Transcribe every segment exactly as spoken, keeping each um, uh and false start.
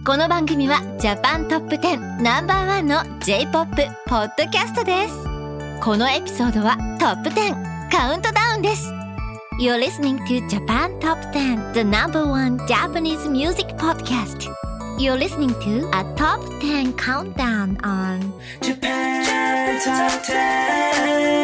この番組はジャパントップテンナンバーワンの J-ポップ ポッドキャストです。このエピソードはトップテンカウントダウンです。 You're listening to Japan Top ten, the number one Japanese music podcast. You're listening to a top ten countdown on Japan Top ten.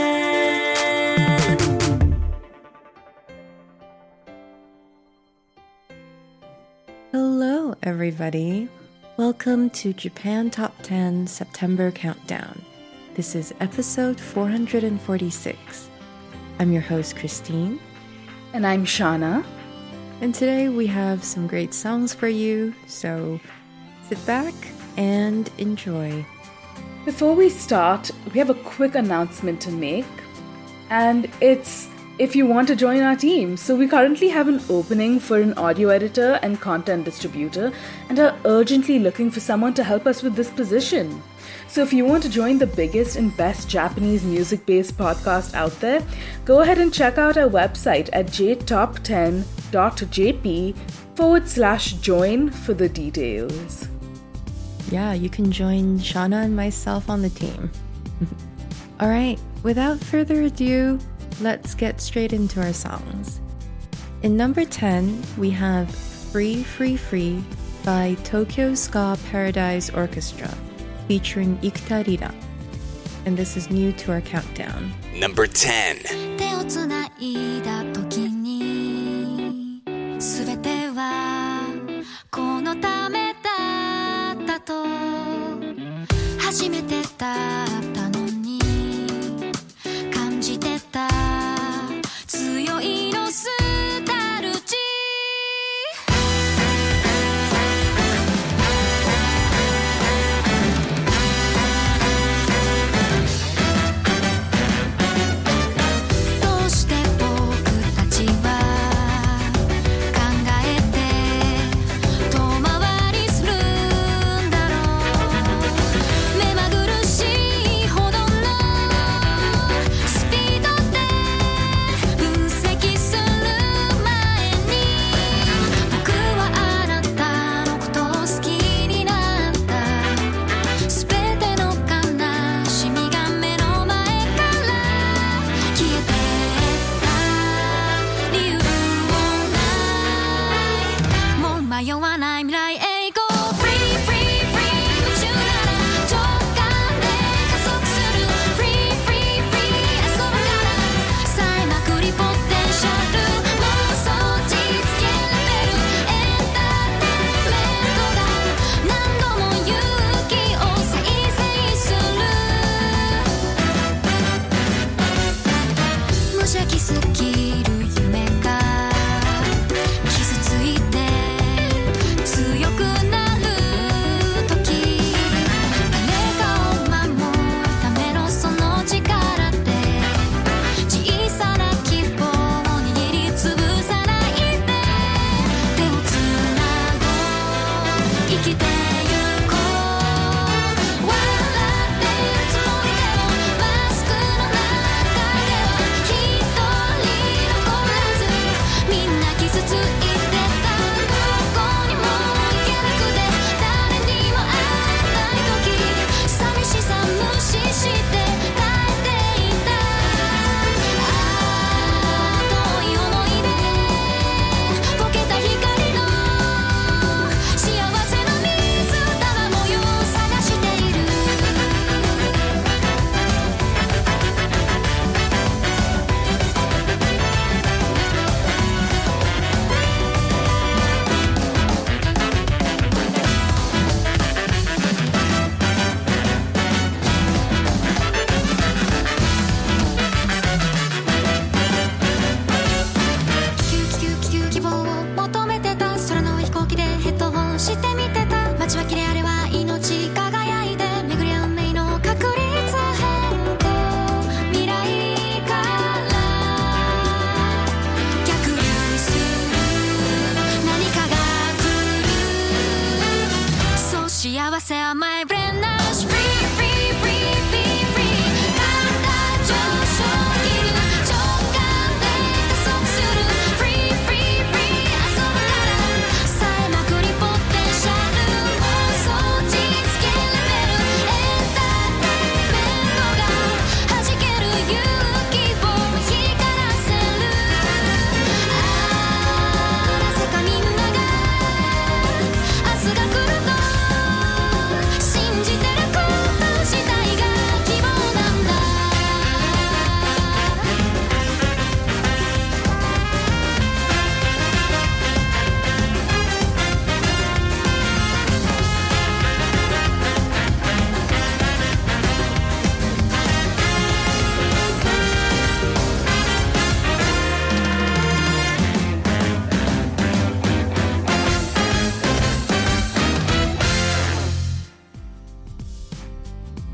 Hello, everybody. Welcome to Japan Top ten September Countdown. This is episode four hundred forty-six. I'm your host, Christine. And I'm Shauna. And today we have some great songs for you, so sit back and enjoy. Before we start, we have a quick announcement to make. And it's if you want to join our team. So we currently have an opening for an audio editor and content distributor and are urgently looking for someone to help us with this position. So if you want to join the biggest and best Japanese music-based podcast out there, go ahead and check out our website at j top ten dot j p forward slash join for the details. Yeah, you can join Shauna and myself on the team. All right, without further ado, let's get straight into our songs. In number ten, we have Free Free Free by Tokyo Ska Paradise Orchestra, featuring Ikuta Rira. And this is new to our countdown. Number ten. 手をつないだ時に全てはこのためだったと初めてだったのに感じてた強いノスタルジー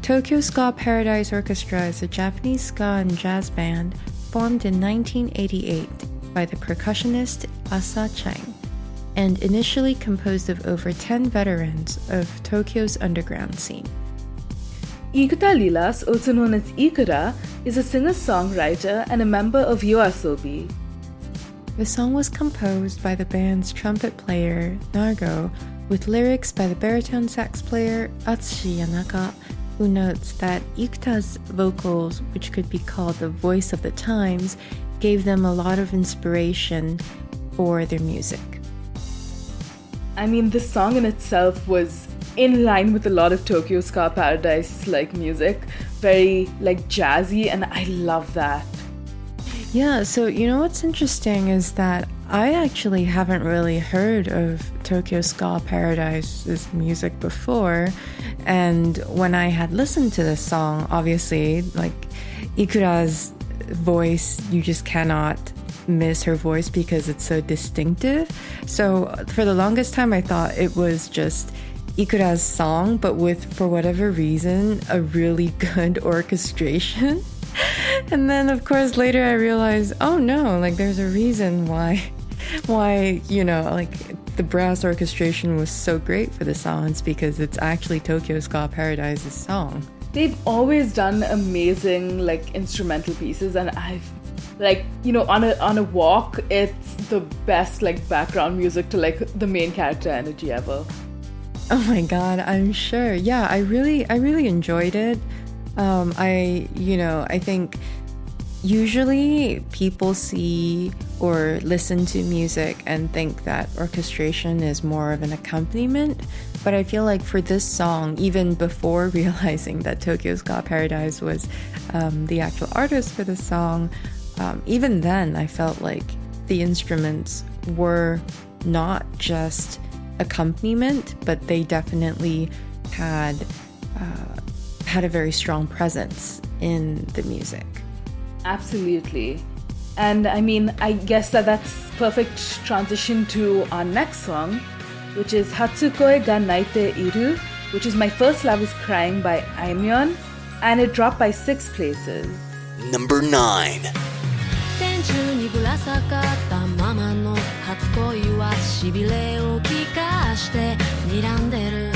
Tokyo Ska Paradise Orchestra is a Japanese ska and jazz band formed in nineteen eighty-eight by the percussionist Asa Chang and initially composed of over ten veterans of Tokyo's underground scene. Ikuta Lilas, also known as Ikura, is a singer-songwriter and a member of YOASOBI. The song was composed by the band's trumpet player, Nargo, with lyrics by the baritone sax player, Atsushi Yanaka, who notes that Ikuta's vocals, which could be called the voice of the times, gave them a lot of inspiration for their music. I mean, this song in itself was in line with a lot of Tokyo Ska Paradise like music, very like jazzy, and I love that. Yeah, so you know what's interesting is that I actually haven't really heard of Tokyo Ska Paradise's music before, and when I had listened to this song, obviously, like Ikura's voice, you just cannot miss her voice because it's so distinctive. So for the longest time, I thought it was just Ikura's song, but with, for whatever reason, a really good orchestration. And then, of course, later I realized, oh no, like there's a reason why, why, you know, like the brass orchestration was so great for the song. It's because it's actually Tokyo Ska Paradise's song. They've always done amazing like instrumental pieces, and I've like, you know, on a on a walk, it's the best like background music to like the main character energy ever. Oh my god, I'm sure. Yeah, I really I really enjoyed it. Um, I, you know, I think usually people see or listen to music and think that orchestration is more of an accompaniment. But I feel like for this song, even before realizing that Tokyo Ska Paradise was um, the actual artist for the song, um, even then I felt like the instruments were not just accompaniment, but they definitely had uh, had a very strong presence in the music. Absolutely. And I mean, I guess that that's perfect transition to our next song, which is Hatsukoi ga Naite Iru, which is My First Love is Crying by Aimyon, and it dropped by six places. Number nine. 天中にぶら下がったままの初恋はしびれを聞かして睨んでる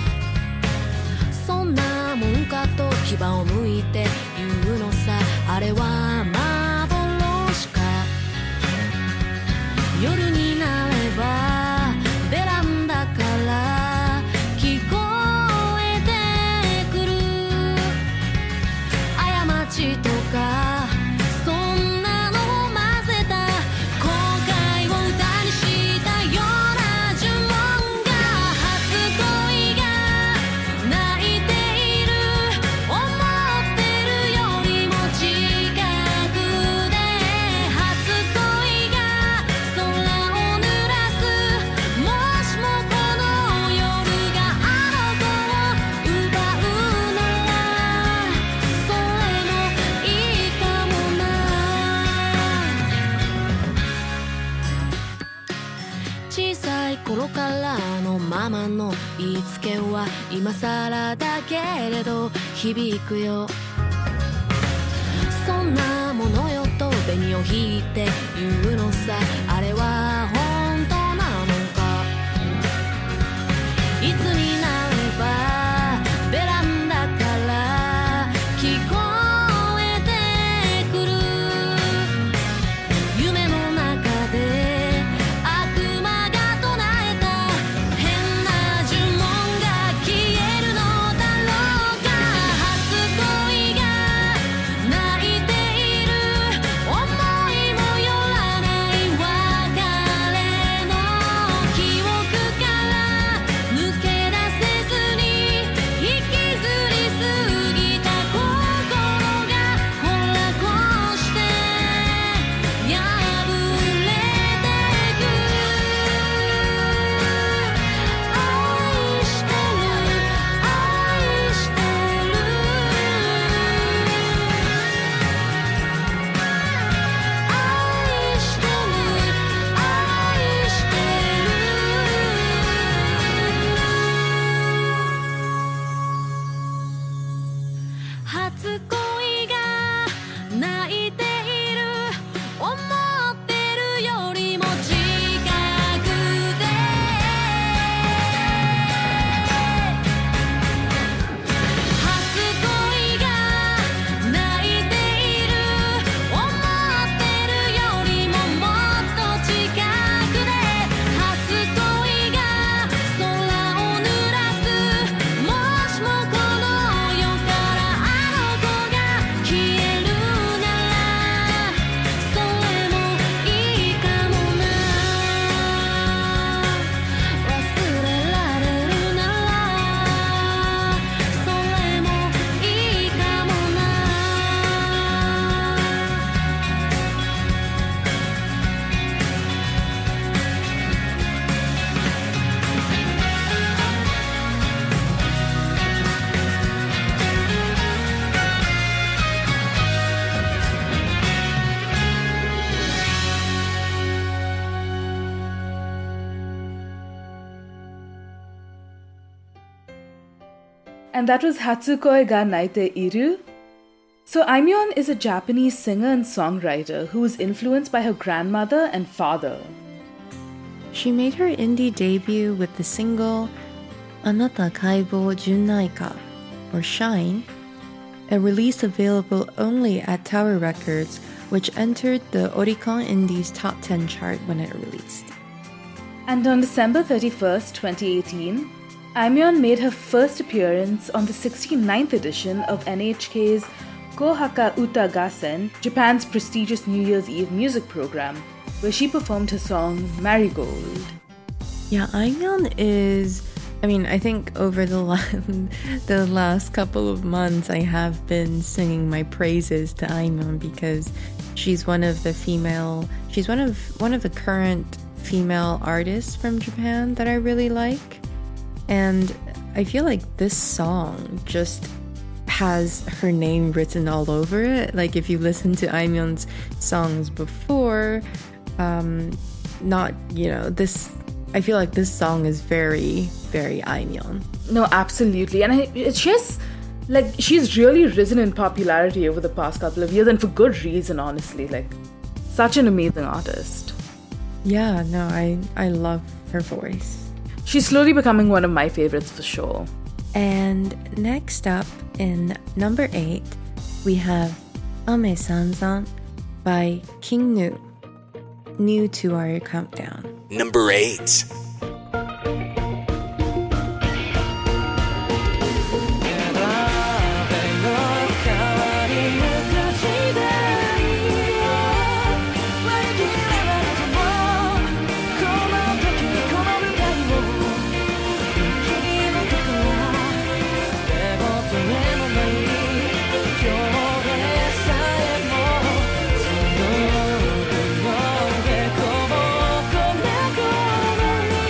そんなもんかと牙をむいて言うのさあれは幻か夜になればベランダから聞こえてくる過ちとか頃からのママの言いつけは今更だけれど響くよそんなものよと紅を引いて言うのさあれは本当なのかいつになればベランダから聞こえてくる夢の中で思いもよらない別れ And that was Hatsukoi ga Naite Iru. So Aimyon is a Japanese singer and songwriter who was influenced by her grandmother and father. She made her indie debut with the single Anata Kaibou Junnai Ka, or Shine, a release available only at Tower Records, which entered the Oricon Indies Top ten chart when it released. And on December thirty-first, twenty eighteen, Aimyon made her first appearance on the sixty-ninth edition of N H K's Kohaka Uta Gassen, Japan's prestigious New Year's Eve music program, where she performed her song Marigold. Yeah, Aimyon is... I mean, I think over the last, the last couple of months, I have been singing my praises to Aimyon because she's one of the female... She's one of one of the current female artists from Japan that I really like. And I feel like this song just has her name written all over it. Like if you listen to Aimyon's songs before, um, not, you know, this, I feel like this song is very, very Aimyon. No, absolutely. And I, it's just, like, she's really risen in popularity over the past couple of years, and for good reason, honestly. Like, such an amazing artist. Yeah, no, I, I love her voice. She's slowly becoming one of my favorites for sure. And next up, in number eight, we have Ame Sanzan by King Nu, new to our countdown. Number eight. 「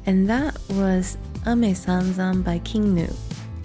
and that was Ame Sanzan by King Gnu.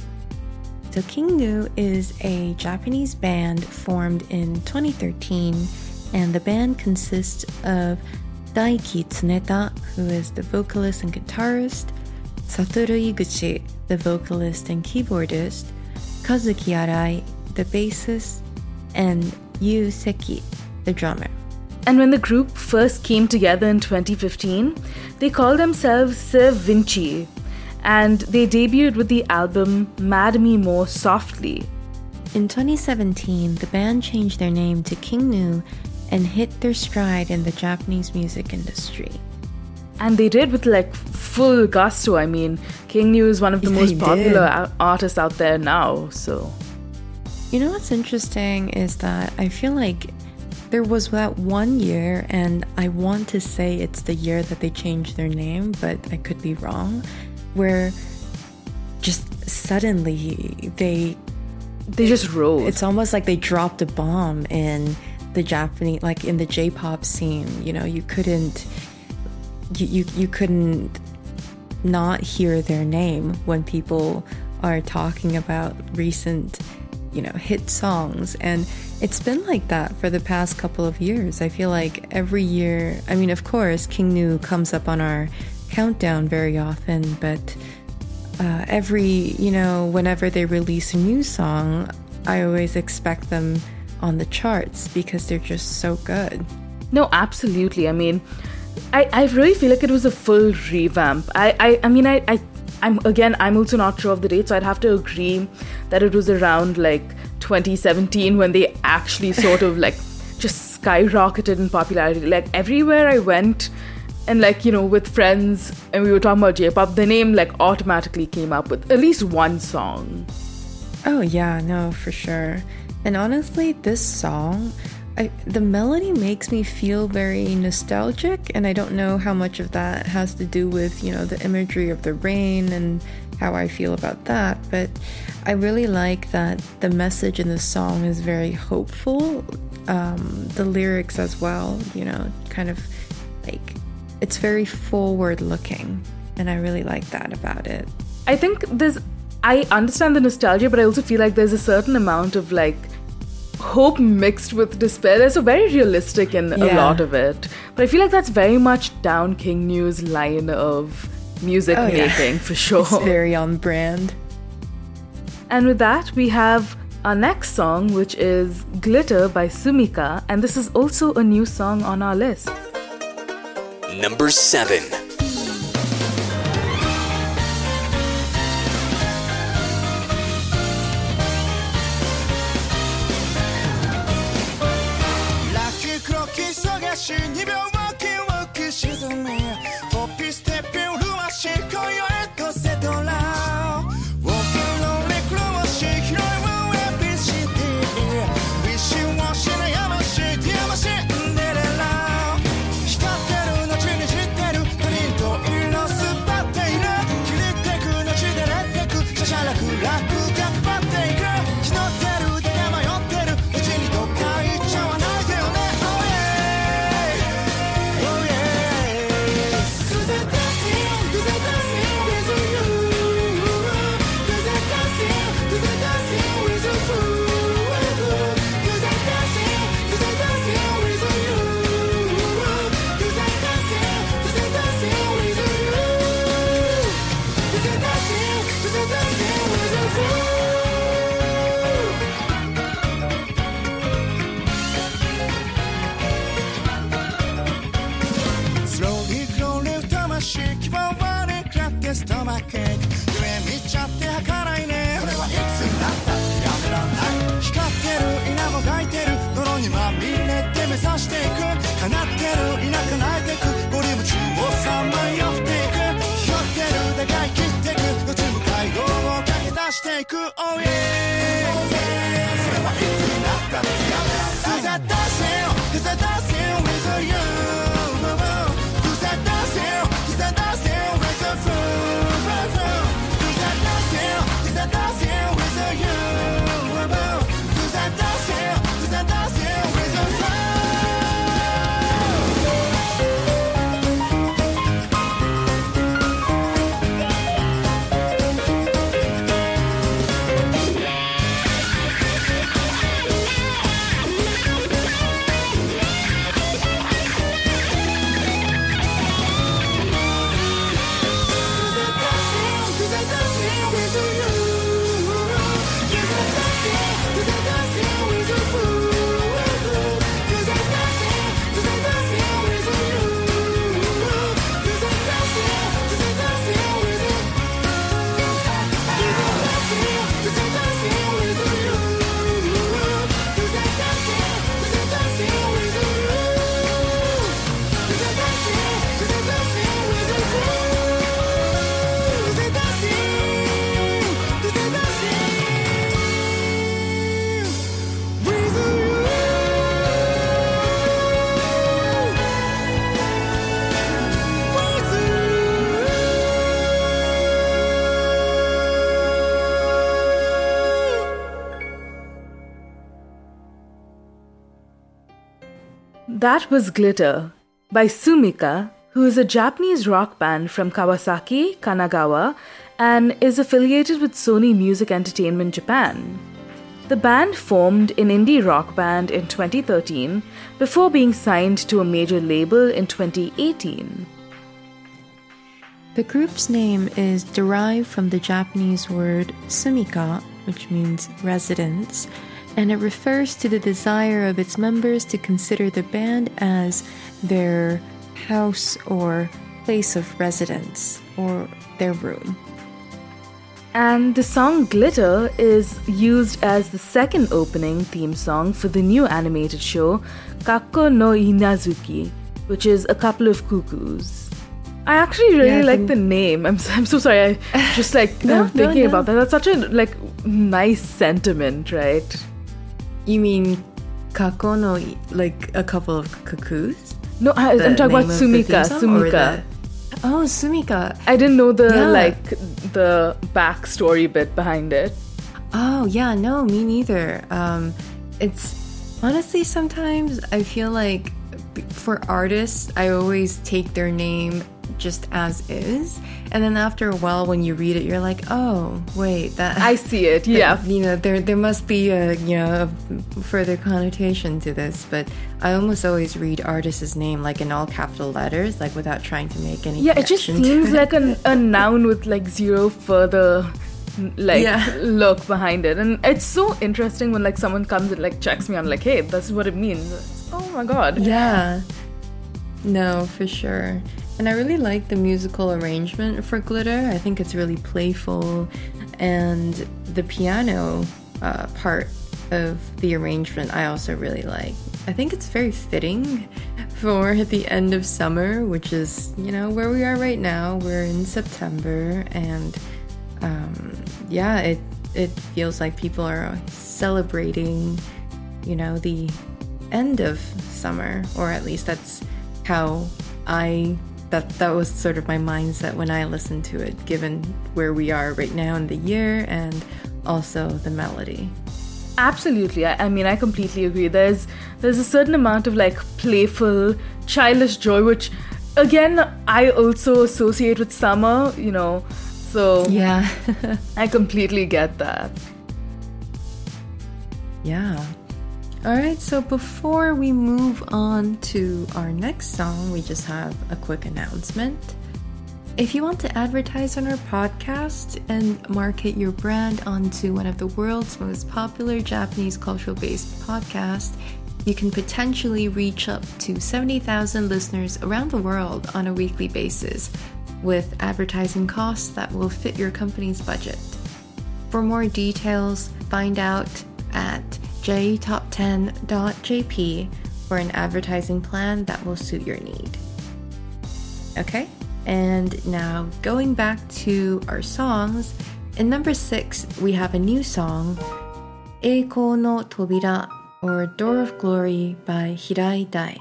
So King Gnu is a Japanese band formed in twenty thirteen, and the band consists of Daiki Tsuneta, who is the vocalist and guitarist, Satoru Iguchi, the vocalist and keyboardist, Kazuki Arai, the bassist, and Yu Seki, the drummer. And when the group first came together in twenty fifteen, they called themselves Sir Vinci, and they debuted with the album Mad Me More Softly. In twenty seventeen, the band changed their name to King Gnu and hit their stride in the Japanese music industry. And they did with like full gusto. I mean, King Gnu is one of the They most popular did. a- artists out there now, so... You know what's interesting is that I feel like there was that one year, and I want to say it's the year that they changed their name, but I could be wrong, where just suddenly they They just rose. it's almost like they dropped a bomb in the Japanese, like in the J-pop scene. You know, you couldn't you, you you couldn't not hear their name when people are talking about recent, you know, hit songs. And it's been like that for the past couple of years. I feel like every year, I mean, of course, King Gnu comes up on our countdown very often, but uh, every, you know, whenever they release a new song, I always expect them on the charts because they're just so good. No, absolutely. I mean, I, I really feel like it was a full revamp. I, I, I mean, I, I, I'm again, I'm also not sure of the date, so I'd have to agree that it was around like twenty seventeen when they actually sort of like just skyrocketed in popularity. Like everywhere I went, and like, you know, with friends, and we were talking about J-pop, the name like automatically came up with at least one song. Oh yeah, no, for sure. And honestly, this song, I, the melody makes me feel very nostalgic, and I don't know how much of that has to do with, you know, the imagery of the rain and how I feel about that, but I really like that the message in the song is very hopeful. Um, the lyrics as well, you know, kind of like, it's very forward looking, and I really like that about it. I think there's, I understand the nostalgia, but I also feel like there's a certain amount of like hope mixed with despair. They're so very realistic in a Yeah. lot of it. But I feel like that's very much down King Gnu's line of music Oh, yeah. making for sure. It's very on brand. And with that, we have our next song, which is Glitter by Sumika, and this is also a new song on our list. Number seven. ラッキークロッキー探しにびょうワキワキ沈みポッピーステッピンルワシ今宵へとセトラウォーキンロンリクロワシ広いワンエビシティウィッシュウォッシュの山シティ山シンデレラ光ってる後に散ってる他人と色すばっている切りてく後でれってくしゃしゃらく楽逆張っていく気取ってるだけ迷ってるうちにどっか行っちゃわないでよね Oh yeah Oh yeah Cause I dance you Cause I dance you with you Cause I dance you Cause I dance you with you Cause I dance you Cause I dance you with you Cause I dance you Cause I dance you with you Cause I dance you Cause I dance you with you Slowly, slowly 魂希望はね食らってストマック夢見ちゃって儚ないねそれはいつになったってやめらんない光ってる稲もがいてる泥にまみれて目指していく叶ってる田舎泣いてく森夢中をさまよっていくひよってるだが生きてくどっち向かい道を駆け出していく Oh yeahそれはいつになったってやめらんない Cause I dance you Cause I dance you with you Cause I dance you Cause I dance you with you Cause I dance you Cause I dance you with you Cause I dance you Cause I dance you with you That was Glitter by Sumika, who is a Japanese rock band from Kawasaki, Kanagawa, and is affiliated with Sony Music Entertainment Japan. The band formed an indie rock band in twenty thirteen before being signed to a major label in twenty eighteen. The group's name is derived from the Japanese word sumika, which means residence, and it refers to the desire of its members to consider the band as their house or place of residence, or their room. And the song Glitter is used as the second opening theme song for the new animated show Kakko no Inazuki, which is A Couple of Cuckoos. I actually really yeah, like the name. I'm I'm so sorry. I just like no, I'm thinking no, no. about that. That's such a like nice sentiment, right? You mean Kakko no, like a couple of cuckoos? No, I, I'm talking about Sumika. Sumika. Oh, Sumika. I didn't know the yeah. like the backstory bit behind it. Oh yeah, no, me neither. Um, it's honestly sometimes I feel like for artists, I always take their name just as is, and then after a while when you read it you're like, oh wait, that I see it. Yeah, that, you know, there there must be a you know a further connotation to this, but I almost always read artist's name like in all capital letters, like without trying to make any yeah it just seems like a, a noun with like zero further like yeah. look behind it, and it's so interesting when like someone comes and like checks me on like, hey, this is what it means. Oh my god. Yeah, no, for sure. And I really like the musical arrangement for Glitter. I think it's really playful, and the piano uh, part of the arrangement I also really like. I think it's very fitting for the end of summer, which is, you know, where we are right now. We're in September, and um, yeah, it it feels like people are celebrating, you know, the end of summer, or at least that's how I that that was sort of my mindset when I listened to it, given where we are right now in the year and also the melody. Absolutely. I, I mean, I completely agree. There's there's a certain amount of like playful, childish joy, which again I also associate with summer, you know. So yeah, I completely get that. Yeah. Alright, so before we move on to our next song, we just have a quick announcement. If you want to advertise on our podcast and market your brand onto one of the world's most popular Japanese cultural-based podcasts, you can potentially reach up to seventy thousand listeners around the world on a weekly basis with advertising costs that will fit your company's budget. For more details, find out at j top ten dot j p for an advertising plan that will suit your need. Okay, and now going back to our songs, in number six we have a new song, Eikou no Tobira, or Door of Glory by Hirai Dai.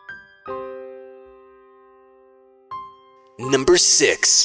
Number six.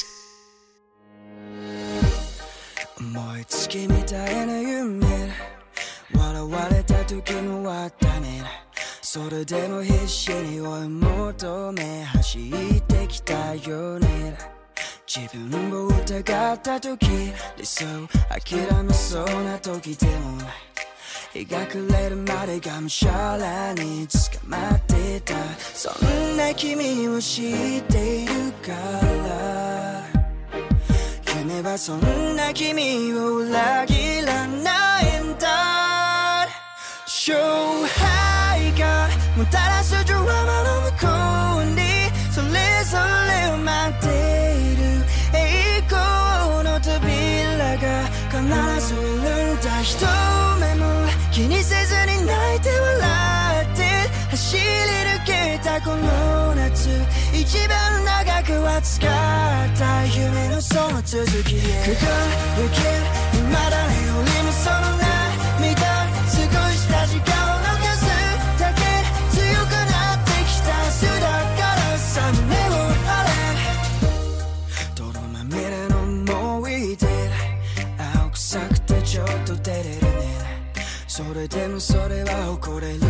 思いつきみたいな夢笑われた時もあったねそれでも必死に追い求め走ってきたよね自分を疑った時理想諦めそうな時でも日が暮れるまでがむしゃらに捕まってたそんな君を知っているから夢はそんな君を裏切らないんだ勝敗がもたらすドラマの向こうにそれぞれを待っている栄光の扉が必ずいるんだ一目も気にせずに泣いて笑って走り抜けたこの夏一番長く熱かった夢のその続きへ駆け抜ける未だによりもその涙少した時間を逃すだけ強くなってきた明日だからさ胸を張れ泥まみれの思い出青臭くてちょっと照れるねそれでもそれは誇れるレ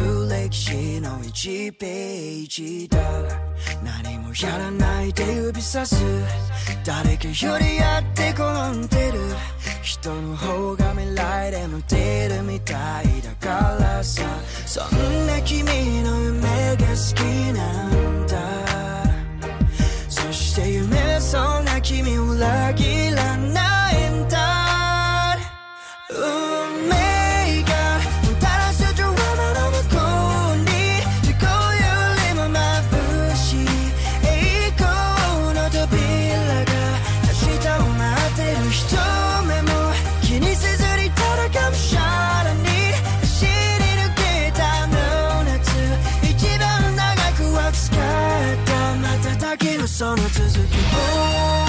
歴史のいちページだ何もやらないで指さす誰かよりやって転んでる人の方が未来でも出るみたいだからさそんな君の夢が好きなんだそして夢そんな君を裏切らないんだ運命がもたらすドラマの向こうにどこよりも眩しい栄光の扉が明日を待ってる人目も気にせずにただがむしゃらに走り抜けたあの夏一番長く熱かった瞬きのその続きを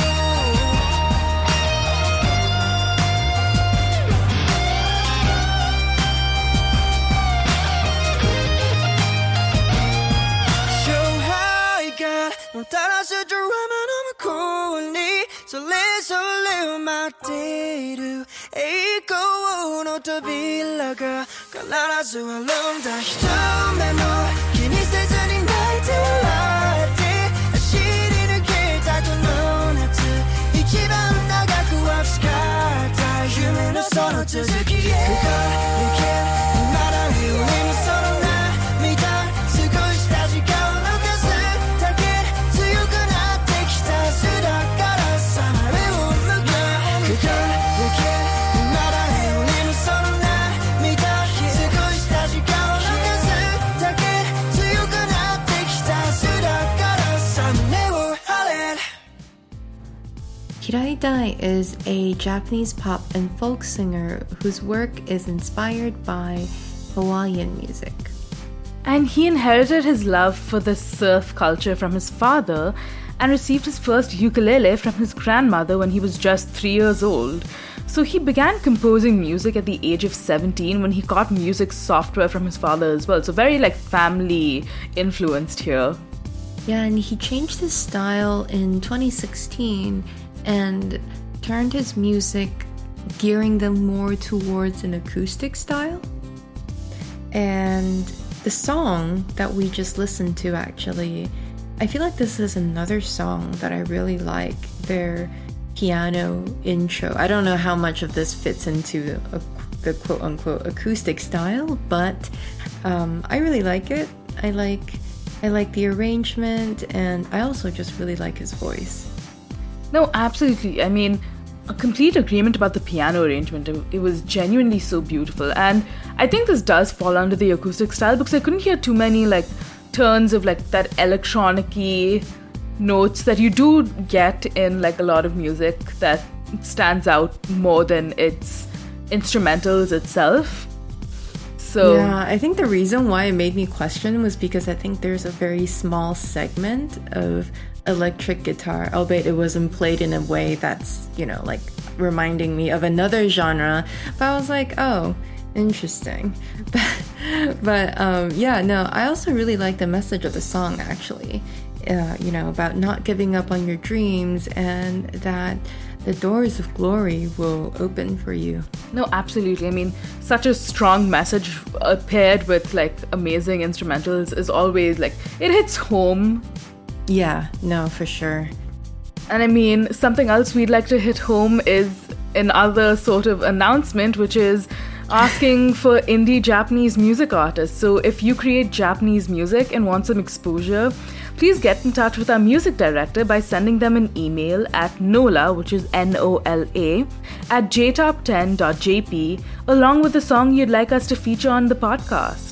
もたらすドラマの向こうにそれぞれを待っている栄光の扉が必ずあるんだ一目も気にせずに泣いて笑って走り抜けたこの夏一番長く熱かった夢のその続きへ深いけまだよりもその涙少した時間の数 Hirai Dai is a Japanese pop and folk singer whose work is inspired by Hawaiian music. And he inherited his love for the surf culture from his father and received his first ukulele from his grandmother when he was just three years old. So he began composing music at the age of seventeen when he got music software from his father as well. So very like family influenced here. Yeah, and he changed his style in twenty sixteen and turned his music, gearing them more towards an acoustic style. And the song that we just listened to, actually, I feel like this is another song that I really like, their piano intro. I don't know how much of this fits into a, the quote-unquote acoustic style, but um, I really like it. I like, I like the arrangement, and I also just really like his voice. No, absolutely. I mean, a complete agreement about the piano arrangement. It was genuinely so beautiful. And I think this does fall under the acoustic style because I couldn't hear too many like turns of like that electronic-y notes that you do get in like a lot of music that stands out more than its instrumentals itself. So yeah, I think the reason why it made me question was because I think there's a very small segment of electric guitar, albeit it wasn't played in a way that's, you know, like reminding me of another genre. But I was like, oh, interesting. But, but um, yeah, no, I also really like the message of the song, actually. Uh, you know, about not giving up on your dreams and that the doors of glory will open for you. No, absolutely. I mean, such a strong message uh, paired with like amazing instrumentals is always like, it hits home. Yeah, no, for sure. And I mean, something else we'd like to hit home is another sort of announcement, which is asking for indie Japanese music artists. So if you create Japanese music and want some exposure, please get in touch with our music director by sending them an email at nola, which is N O L A, at j top ten dot j p, along with the song you'd like us to feature on the podcast.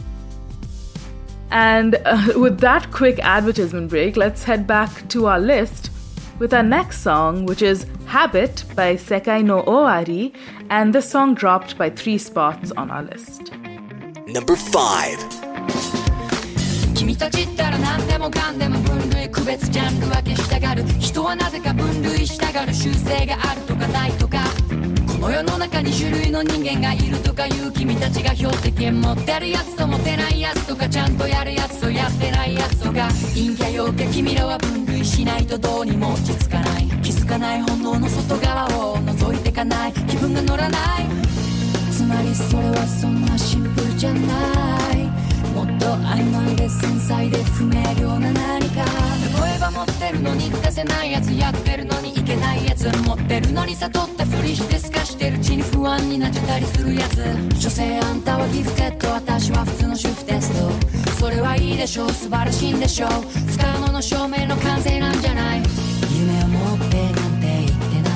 And uh, with that quick advertisement break, let's head back to our list with our next song, which is Habit by Sekai no Owari, and this song dropped by three spots on our list. Number five. 君たちったら何でもかんでも分類区別ジャンル分けしたがる人はなぜか分類したがる習性があるとかないとかこの世の中に種類の人間がいるとかいう君たちが標的持ってるやつと持てないやつとかちゃんとやるやつとやってないやつとか陰キャ陽キャ君らは分類しないとどうにも落ち着かない気づかない本能の外側を覗いてかない気分が乗らないつまりそれはそんなシンプルじゃないもっ曖昧で繊細で不明瞭な何か。例えば持ってるのに出せないやつ、やってるのにいけないやつ、持ってるのに悟ったふりして透かしてるうちに不安になっちゃったりするやつ。所詮あんたはギフテッド、私は普通の主婦テスト。それはいいでしょう、素晴らしいんでしょう。不可能の証明の完成なんじゃない。夢を持ってなんて言ってない、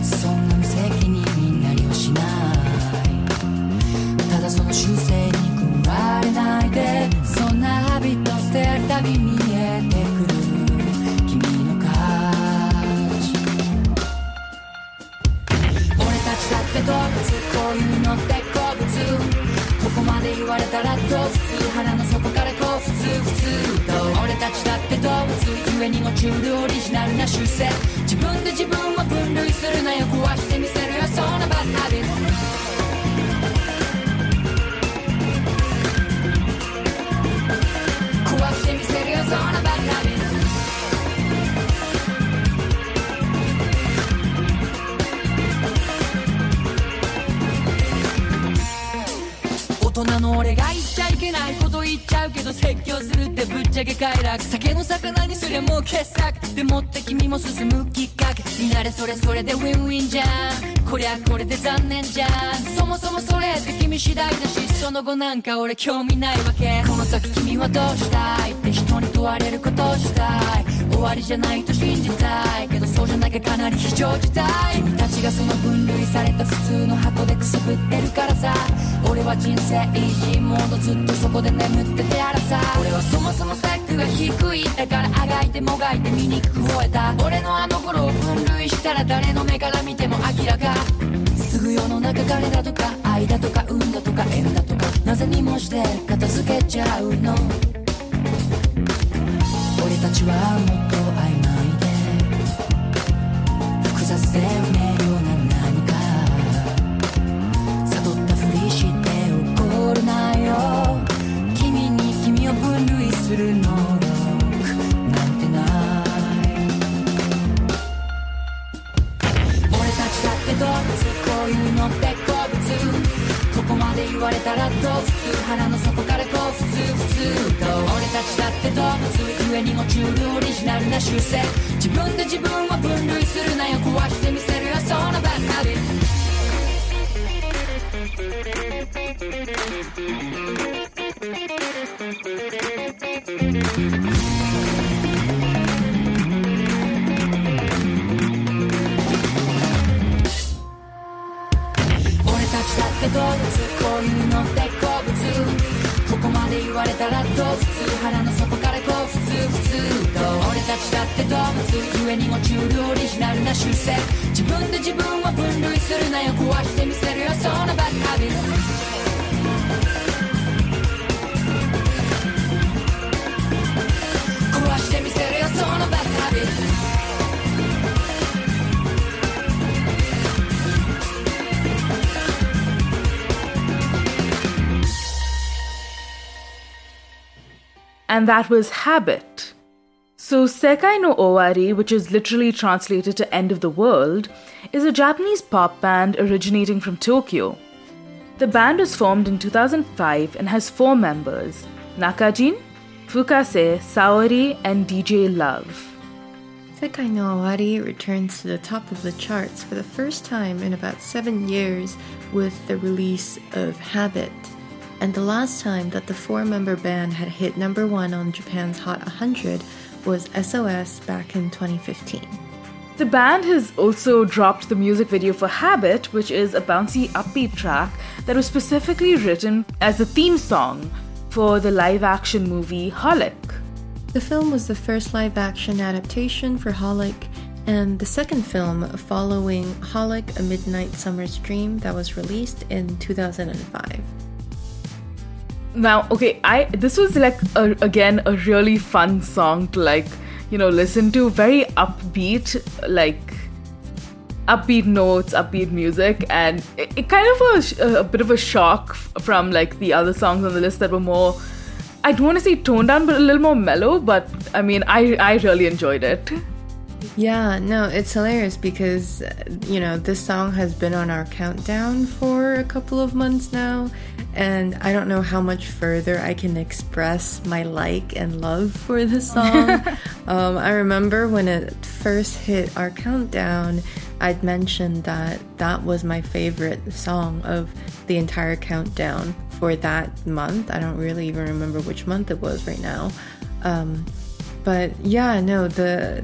そんな無責任になりはしない。ただその習性に食われないで、そんなハビット捨てるたび見えてくる君の価値。俺たちだって動物、こういうのって好物。ここまで言われたらどう普通、腹の底からこう普通普通と。俺たちだって動物、ゆえにもチュールオリジナルな習性。自分で自分を分類するなよ、壊してみせるよそんなバッハビット。壊してみせるよそんなバッハビット。大人の俺が言っちゃいけないこと言っちゃうけど、説教するってぶっちゃけ快楽。酒の魚にすりゃもう傑作でもって君も進むきっかけになれ。それそれでウィンウィンじゃん、こりゃこれで残念じゃん。そもそもそれって君次第だし、その後なんか俺興味ないわけ。この先君はどうしたいって人に問われることをしたい。終わりじゃないと信じたいけど、そうじゃなきゃかなり非常事態。君たちがその分類された普通の箱でくすぶってるからさ。俺は人生イージーモード、ずっとそこで眠っててやらさ。俺はそもそもスペックが低い、だからあがいてもがいて醜く吠えた。俺のあの頃を分類したら誰の目から見ても明らか。すぐ世の中彼だとか愛だとか運だとか縁だとか、なぜにもして片付けちゃうの。俺たちはもっと曖昧で複雑で不明瞭な何か。悟ったふりして怒るなよ、君に君を分類する能力なんてない。俺たちだって動物、こういうのって好物。ここまで言われたらどう普通、腹の底からこう普通普通と。俺たちだって動物、ゆえにもチュールオリジナルな習性。自分で自分を分類するなよ、壊してみせるよそんなバッハビット。俺たちだって動物、こういうのって好物。ここまで言われたらどう普通、腹の底からこう普通普通と。俺たちだって動物、ゆえにもチュールオリジナルな習性。自分で自分を分類するなよ、壊してみせるよそんなバッハビット。壊してみせるよそのバッハビット。 And that was Habit. So Sekai no Owari, which is literally translated to End of the World, is a Japanese pop band originating from Tokyo. The band was formed in two thousand five and has four members: Nakajin, Fukase, Saori, and D J Love. Sekai no Owari returns to the top of the charts for the first time in about seven years with the release of Habit. And the last time that the four-member band had hit number one on Japan's Hot one hundred was S O S back in twenty fifteen. The band has also dropped the music video for Habit, which is a bouncy upbeat track that was specifically written as a theme song for the live-action movie Holic. The film was the first live-action adaptation for Holic, and the second film following Holic: A Midnight Summer's Dream that was released in two thousand five. Now, okay, I this was like a, again a really fun song to like, you know, listen to. Very upbeat, like upbeat notes, upbeat music, and it, it kind of was a, a bit of a shock from like the other songs on the list that were more, I don't want to say toned down, but a little more mellow. But I mean, I I really enjoyed it. Yeah, no, it's hilarious because, you know, this song has been on our countdown for a couple of months now, and I don't know how much further I can express my like and love for this song. um, I remember when it first hit our countdown, I'd mentioned that that was my favorite song of the entire countdown for that month. I don't really even remember which month it was right now. Um, but yeah, no, the...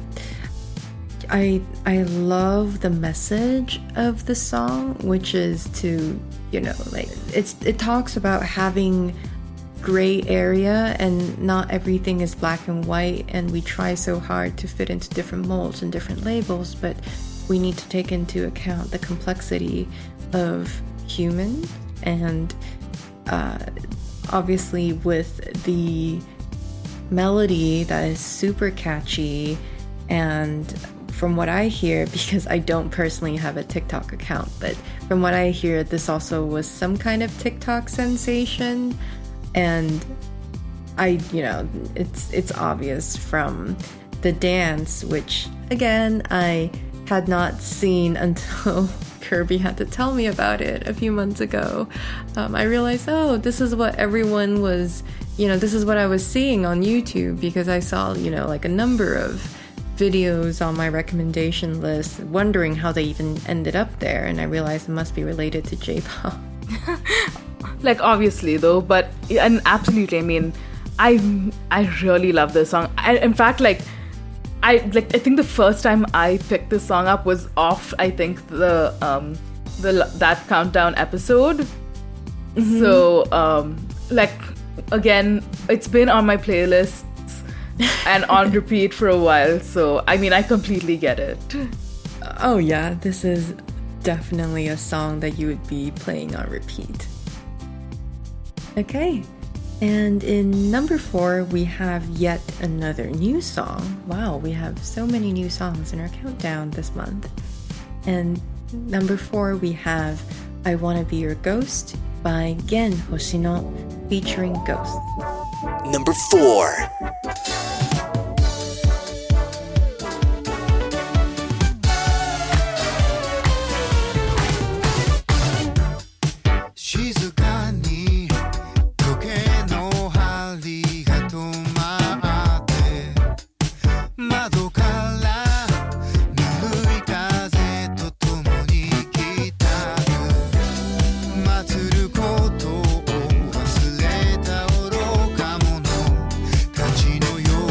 I I love the message of the song, which is to, you know, like it's it talks about having gray area and not everything is black and white, and we try so hard to fit into different molds and different labels, but we need to take into account the complexity of humans, and uh, obviously with the melody that is super catchy. And from what I hear, because I don't personally have a TikTok account, but from what I hear, this also was some kind of TikTok sensation. And I, you know, it's it's obvious from the dance, which again, I had not seen until Kirby had to tell me about it a few months ago. Um, I realized, oh, this is what everyone was, you know, this is what I was seeing on YouTube, because I saw, you know, like a number of videos on my recommendation list, wondering how they even ended up there, and I realized it must be related to J-pop. Like, obviously though, but and absolutely, I mean, I I really love this song. I, in fact, like I like I think the first time I picked this song up was off, I think, the um the that countdown episode. Mm-hmm. So um like again, it's been on my playlist and on repeat for a while, so I mean, I completely get it. Oh yeah, this is definitely a song that you would be playing on repeat. Okay, and in number four, we have yet another new song. Wow, we have so many new songs in our countdown this month. And number four, we have I Wanna Be Your Ghost by Gen Hoshino featuring Ghost. Number four. 「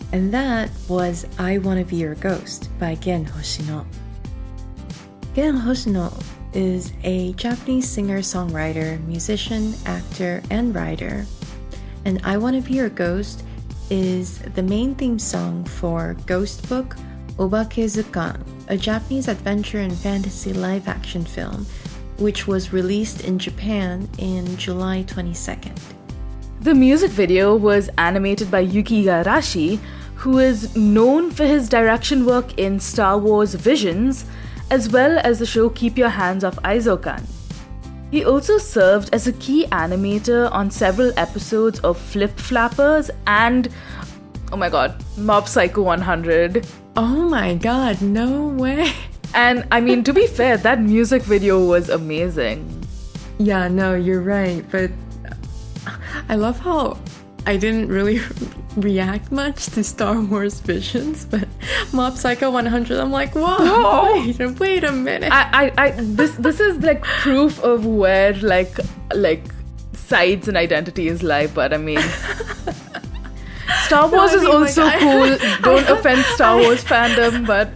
And that was I Wanna Be Your Ghost by Gen Hoshino. Gen Hoshino is a Japanese singer-songwriter, musician, actor, and writer. And I Wanna Be Your Ghost is the main theme song for Ghost Book Obakezukan, a Japanese adventure and fantasy live-action film, which was released in Japan in July twenty-second. The music video was animated by Yuki Igarashi, who is known for his direction work in Star Wars Visions, as well as the show Keep Your Hands Off Aizokan. He also served as a key animator on several episodes of Flip Flappers and, oh my god, Mob Psycho one hundred. Oh my god, no way. And I mean, to be fair, that music video was amazing. Yeah, no, you're right, but I love how I didn't really react much to Star Wars Visions, but Mob Psycho one hundred, I'm like, whoa, whoa. wait, wait a minute. I, I, I, this, this is like proof of where like, like sides and identities lie. But I mean, Star Wars no, I mean, is also like, cool. I, Don't I, offend Star Wars I, fandom, but.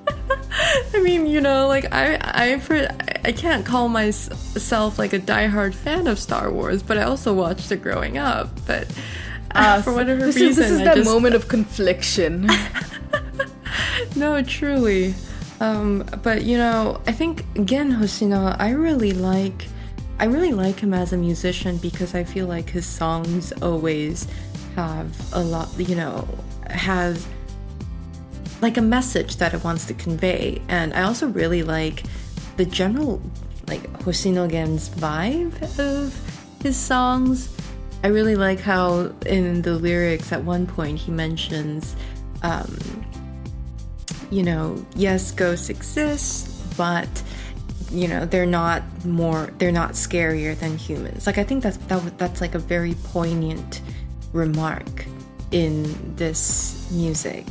I mean, you know, like I, I, for, I can't call myself like a diehard fan of Star Wars, but I also watched it growing up. But uh, uh, for whatever this reason, is, this is I that just, moment of confliction. No, truly. Um, but you know, I think Gen Hoshino, I really like, I really like him as a musician because I feel like his songs always have a lot, you know, has like a message that it wants to convey. And I also really like the general like Hoshino Gen's vibe of his songs. I really like how in the lyrics at one point he mentions um, you know, yes, ghosts exist, but you know, they're not more they're not scarier than humans. Like I think that's that, that's like a very poignant remark in this music.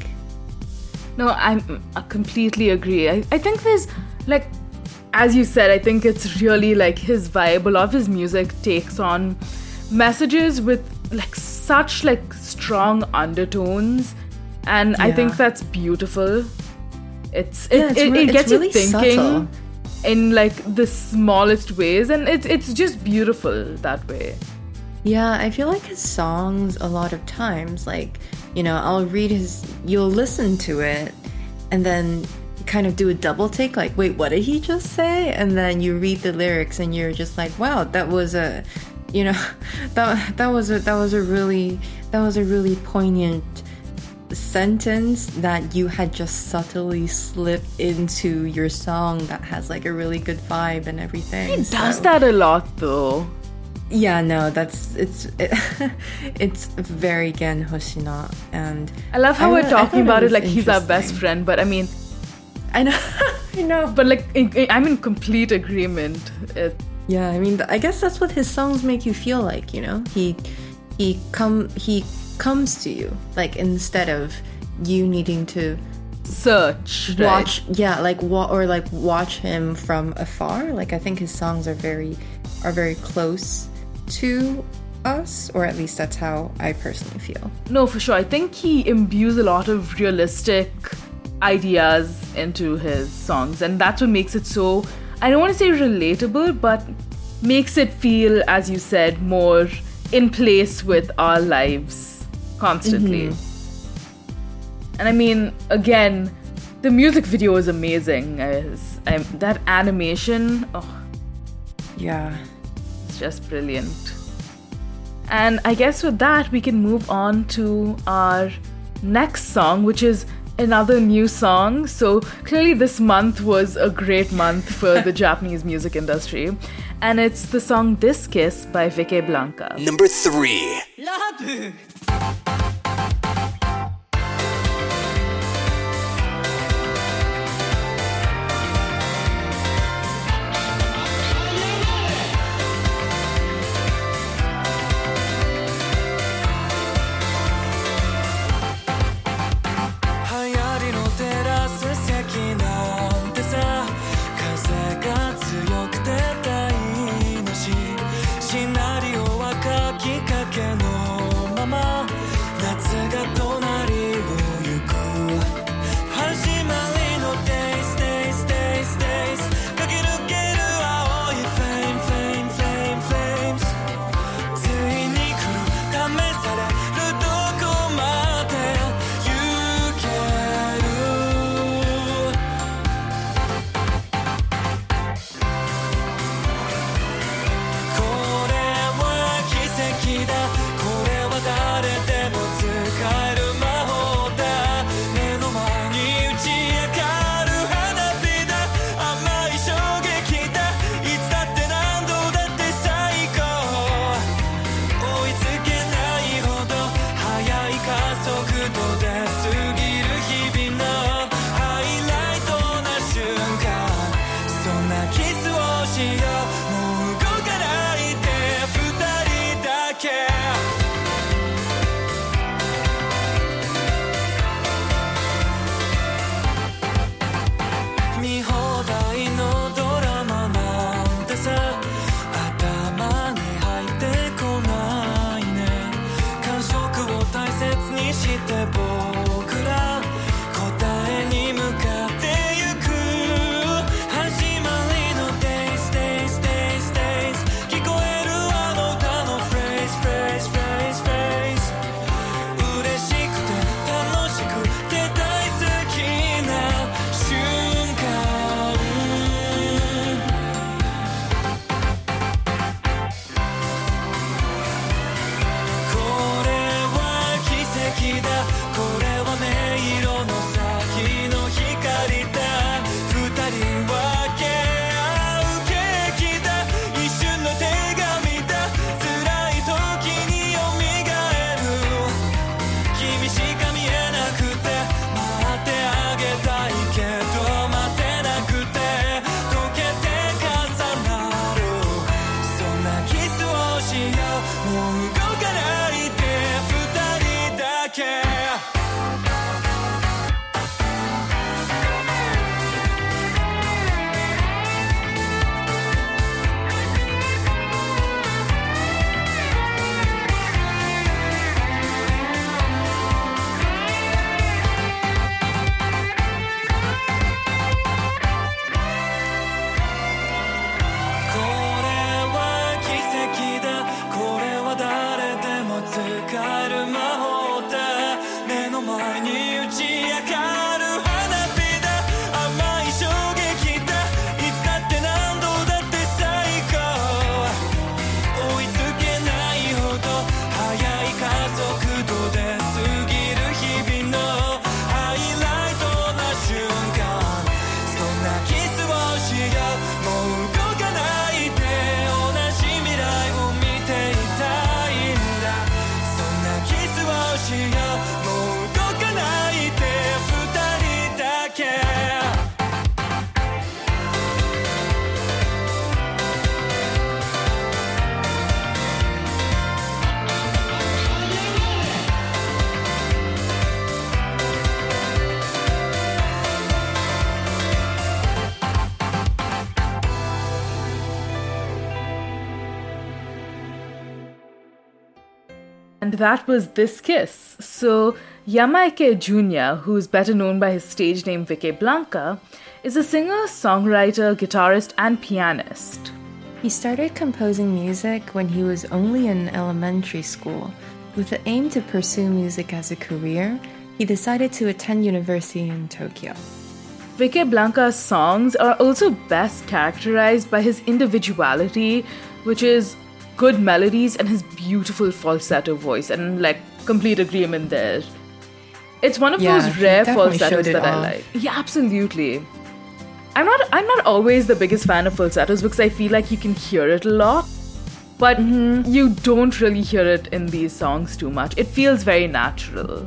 No, I'm, I completely agree. I, I think there's, like, as you said, I think it's really, like, his vibe. A lot of his music takes on messages with, like, such, like, strong undertones. And yeah. I think that's beautiful. It's It, yeah, it's it, re- it gets really you thinking subtle. In, like, the smallest ways. And it's it's just beautiful that way. Yeah, I feel like his songs a lot of times, like, you know, I'll read his, you'll listen to it and then kind of do a double take, like, wait, what did he just say? And then you read the lyrics and you're just like, wow, that was a, you know, that that was a that was a really that was a really poignant sentence that you had just subtly slipped into your song that has like a really good vibe and everything. He so. does that a lot though. Yeah, no, that's it's it, it's very Gen Hoshino, and I love how I we're talking it about it like he's our best interesting. friend, but I mean, I know, I know, but like I'm in complete agreement. It, yeah, I mean, I guess that's what his songs make you feel like, you know. He he come he comes to you, like instead of you needing to search, watch, right? yeah, like wa- or like watch him from afar. Like I think his songs are very are very close to us, or at least that's how I personally feel. No, for sure. I think he imbues a lot of realistic ideas into his songs, and that's what makes it so, I don't want to say relatable, but makes it feel, as you said, more in place with our lives constantly. Mm-hmm. And I mean, again, the music video is amazing. As, um, that animation, oh, yeah. just brilliant. And I guess with that we can move on to our next song, which is another new song. So clearly this month was a great month for the Japanese music industry, and it's the song This Kiss by Vicky Blanca. Number three. Love. 「シナリオは書きかけのまま」 して僕ら答えに向かってゆく始まりの Days Days Days Days 聞こえるあの歌の Phrase Phrase Phrase Phrase 嬉しくて楽しくて大好きな瞬間これは奇跡だこれは迷路の先の光だ二人分け合うケーキだ一瞬の手紙だ辛い時に蘇る君しか見えなくて待ってあげたいけど待てなくて溶けて重なるそんなキスをしようもう動かないで二人だけこれは奇跡だこれは誰でも使える魔法だ目の前に打ち明かる花火だ甘い衝撃だいつだって何度だって最高追いつけないほど速い加速度で過ぎる日々のハイライトな瞬間そんなキスをしようもう動かないで同じ未来を見ていたいんだそんなキスをしようもう動かないで二人だけ And that was This Kiss. So, Yamaike Junior, who's better known by his stage name Vicky Blanca, is a singer, songwriter, guitarist, and pianist. He started composing music when he was only in elementary school. With the aim to pursue music as a career, he decided to attend university in Tokyo. Vicky Blanca's songs are also best characterized by his individuality, which is good melodies and his beautiful falsetto voice, and like complete agreement there. It's one of Yeah, those he rare definitely falsettos showed it that I off. like. Yeah, absolutely. I'm not I'm not always the biggest fan of falsettos because I feel like you can hear it a lot, but you don't really hear it in these songs too much. It feels very natural.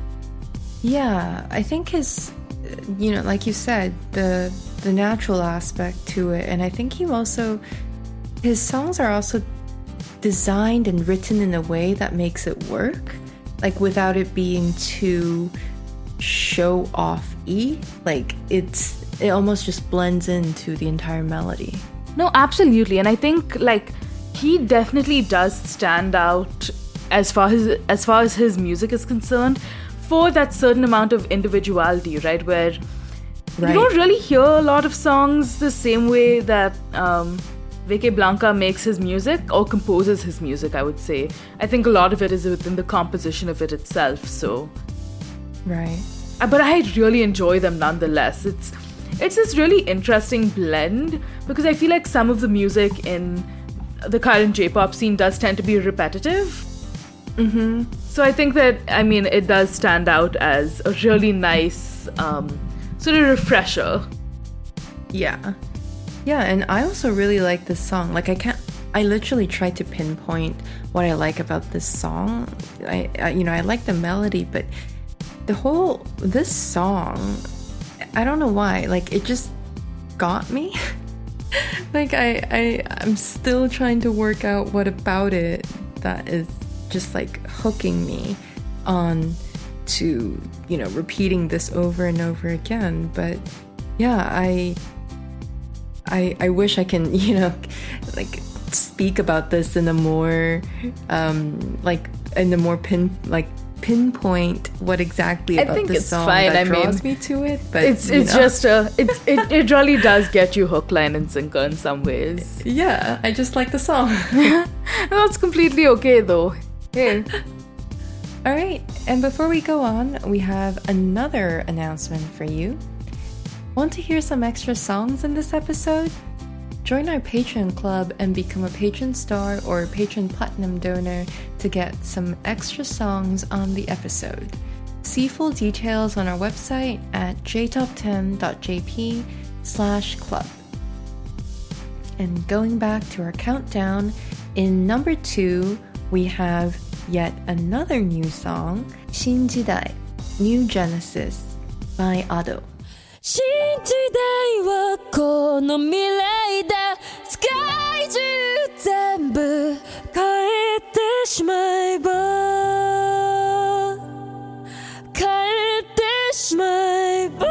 Yeah, I think his, you know, like you said, the the natural aspect to it, and I think he also, his songs are also designed and written in a way that makes it work, like without it being too show off-y. Like it's it almost just blends into the entire melody. No, absolutely. And I think like he definitely does stand out as far as as far as his music is concerned for that certain amount of individuality, right? Where Right. you don't really hear a lot of songs the same way that um, Vicky Blanca makes his music or composes his music, I would say. I think a lot of it is within the composition of it itself, so... Right. Uh, But I really enjoy them nonetheless. It's it's this really interesting blend because I feel like some of the music in the current J-pop scene does tend to be repetitive. Mm-hmm. So I think that, I mean, it does stand out as a really nice um, sort of refresher. Yeah. Yeah, and I also really like this song. Like I can't I literally tried to pinpoint what I like about this song. I, I you know, I like the melody, but the whole this song, I don't know why, like it just got me. Like I, I I'm still trying to work out what about it that is just like hooking me on to, you know, repeating this over and over again. But yeah, I I I wish I can, you know, like speak about this in a more um like in a more pin like pinpoint what exactly about I think the it's song fine. that I draws mean, me to it, but it's you it's know. just a it's, it it really does get you hook, line, and sinker in some ways. Yeah, I just like the song. That's completely okay though. Hey. All right, and before we go on, we have another announcement for you. Want to hear some extra songs in this episode? Join our Patreon club and become a Patreon star or Patreon platinum donor to get some extra songs on the episode. See full details on our website at j top ten dot j p slash club. And going back to our countdown, in number two, we have yet another new song, 新時代 New Genesis by Ado. 新時代はこの未来だ世界中全部変えてしまえば変えてしまえば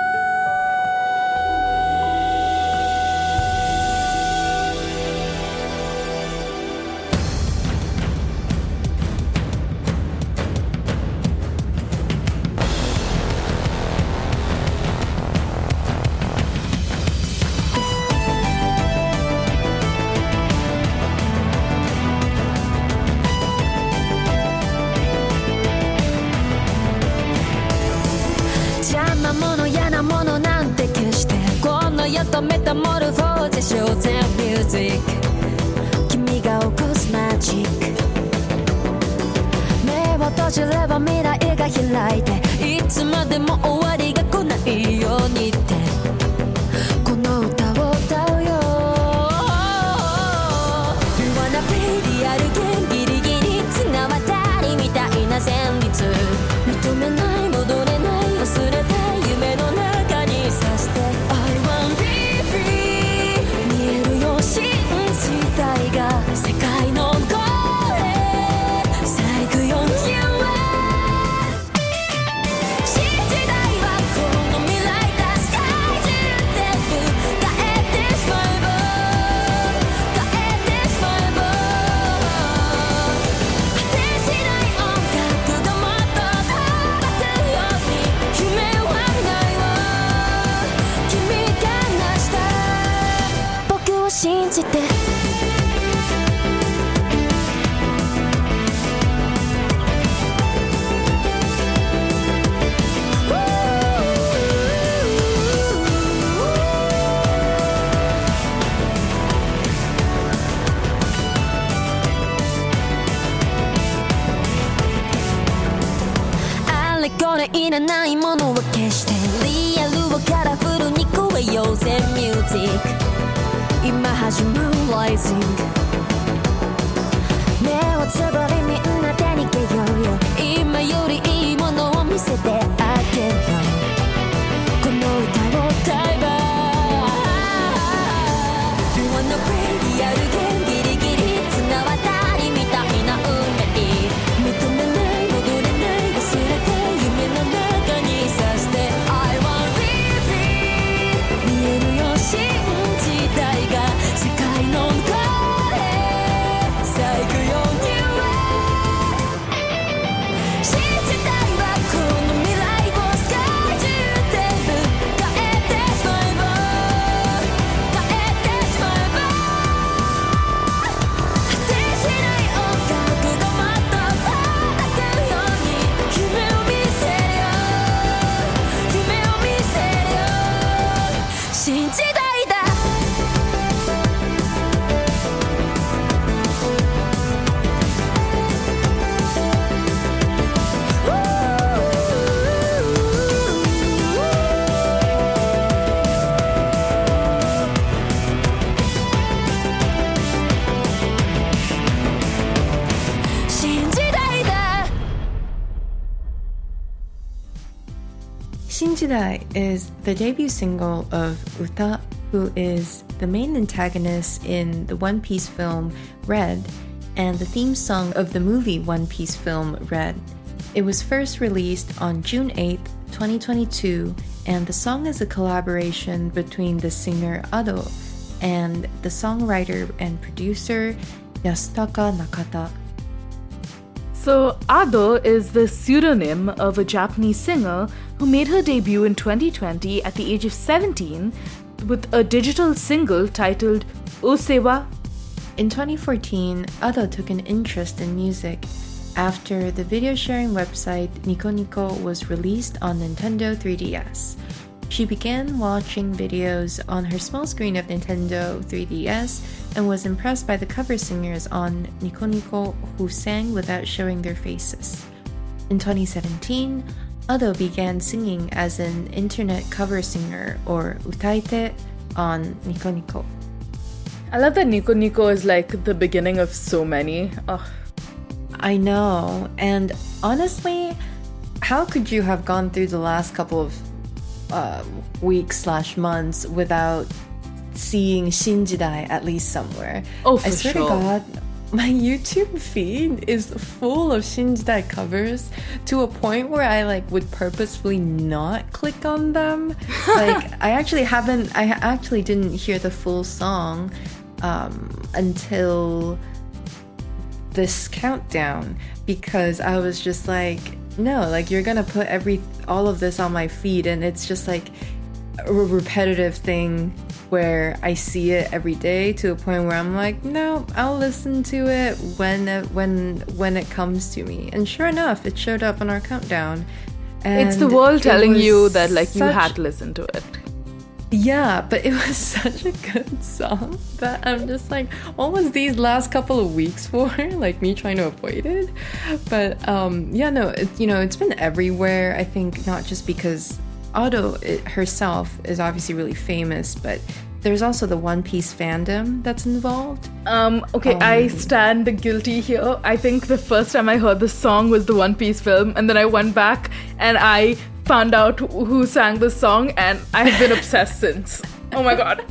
とメタモルフォーゼショーゼンミュージック君が起こすマジック目を閉じれば未来が開いていつまでも終わりが来ないようにってこの歌を歌うよ You wanna be リアルゲンギリギリ綱渡りみたいな旋律認めない戻れない忘れたい夢の中にさして I want be新時代が世界の声咲くよ You are 新時代はこの未来だ世界中全部変えてしまえば変えてしまえば果てしない音楽がもっと飛ばすように夢はないわ君が成した僕を信じてあれこれいらないものは消してリアルをカラフルに超えようぜミュージック今始まる Rising 目をつぶりみんなで逃げようよ今よりいいものを見せてあげるよこの歌を歌えば You wanna be リアルゲンギリギリ綱渡りみたいな運命認めない戻れない忘れて夢の中にさして I want be free 見えるよ新時代が世界の声咲くよ You are 新時代はこの未来を世界中全部変えてしまえば変えてしまえば果てしない音楽がもっと届くように夢を見せるよ夢を見せるよ新時代だ新時代だ Shinjidai is the debut single of Uta, who is the main antagonist in the One Piece film Red and the theme song of the movie One Piece film Red. It was first released on June eighth, twenty twenty-two, and the song is a collaboration between the singer Ado and the songwriter and producer Yasutaka Nakata. So, Ado is the pseudonym of a Japanese singer who made her debut in twenty twenty at the age of seventeen with a digital single titled Usewa. In twenty fourteen, Ado took an interest in music after the video sharing website Nico Nico was released on Nintendo three D S. She began watching videos on her small screen of Nintendo three D S and was impressed by the cover singers on Nico Nico who sang without showing their faces. In twenty seventeen, Ado began singing as an internet cover singer or utaite on Nico Nico. I love that Nico Nico is like the beginning of so many. Oh. I know, and honestly, how could you have gone through the last couple of uh, weeks slash months without seeing Shinjidai at least somewhere? Oh, for I swear sure. to God, my YouTube feed is full of Shinjidai covers to a point where I like would purposefully not click on them. Like I actually haven't, I actually didn't hear the full song um, until this countdown because I was just like, no, like you're gonna put every all of this on my feed, and it's just like a repetitive thing where I see it every day to a point where I'm like, no, I'll listen to it when it, when when it comes to me. And sure enough, it showed up on our countdown. And It's the world telling was you that like you such- had to listen to it. Yeah, but it was such a good song that I'm just like, what was these last couple of weeks for? Like me trying to avoid it. But um, yeah, no, it, you know, it's been everywhere. I think not just because Ado it, herself is obviously really famous, but there's also the One Piece fandom that's involved. Um, okay, Um, I stand the guilty here. I think the first time I heard the song was the One Piece film, and then I went back and I found out who sang the song, and I have been obsessed since. Oh my god.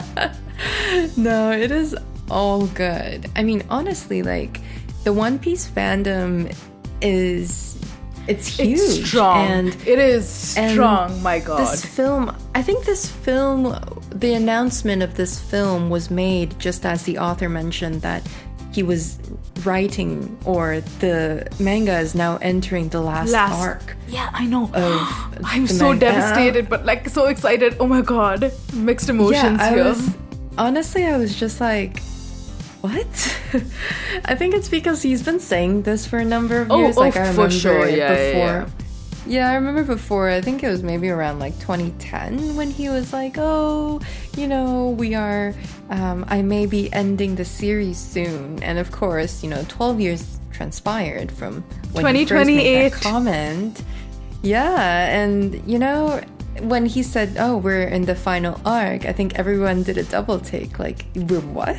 No, it is all good. I mean, honestly, like the One Piece fandom is it's huge. It's strong. And it is and strong, my god. This film, I think this film, the announcement of this film was made just as the author mentioned that he was writing, or the manga is now entering the last, Last. arc. Yeah, I know. Of I'm the so manga. devastated, but like so excited. Oh my god. Mixed emotions yeah, I here. was, honestly, I was just like, what? I think it's because he's been saying this for a number of Oh, years. oh, like I for remember sure. it Yeah, yeah, before. yeah. Yeah, I remember before, I think it was maybe around like twenty ten when he was like, oh, you know, we are, um, I may be ending the series soon. And of course, you know, twelve years transpired from when he first made that twenty twenty-eight. comment. Yeah, and you know, when he said, oh, we're in the final arc, I think everyone did a double take, like, we're what?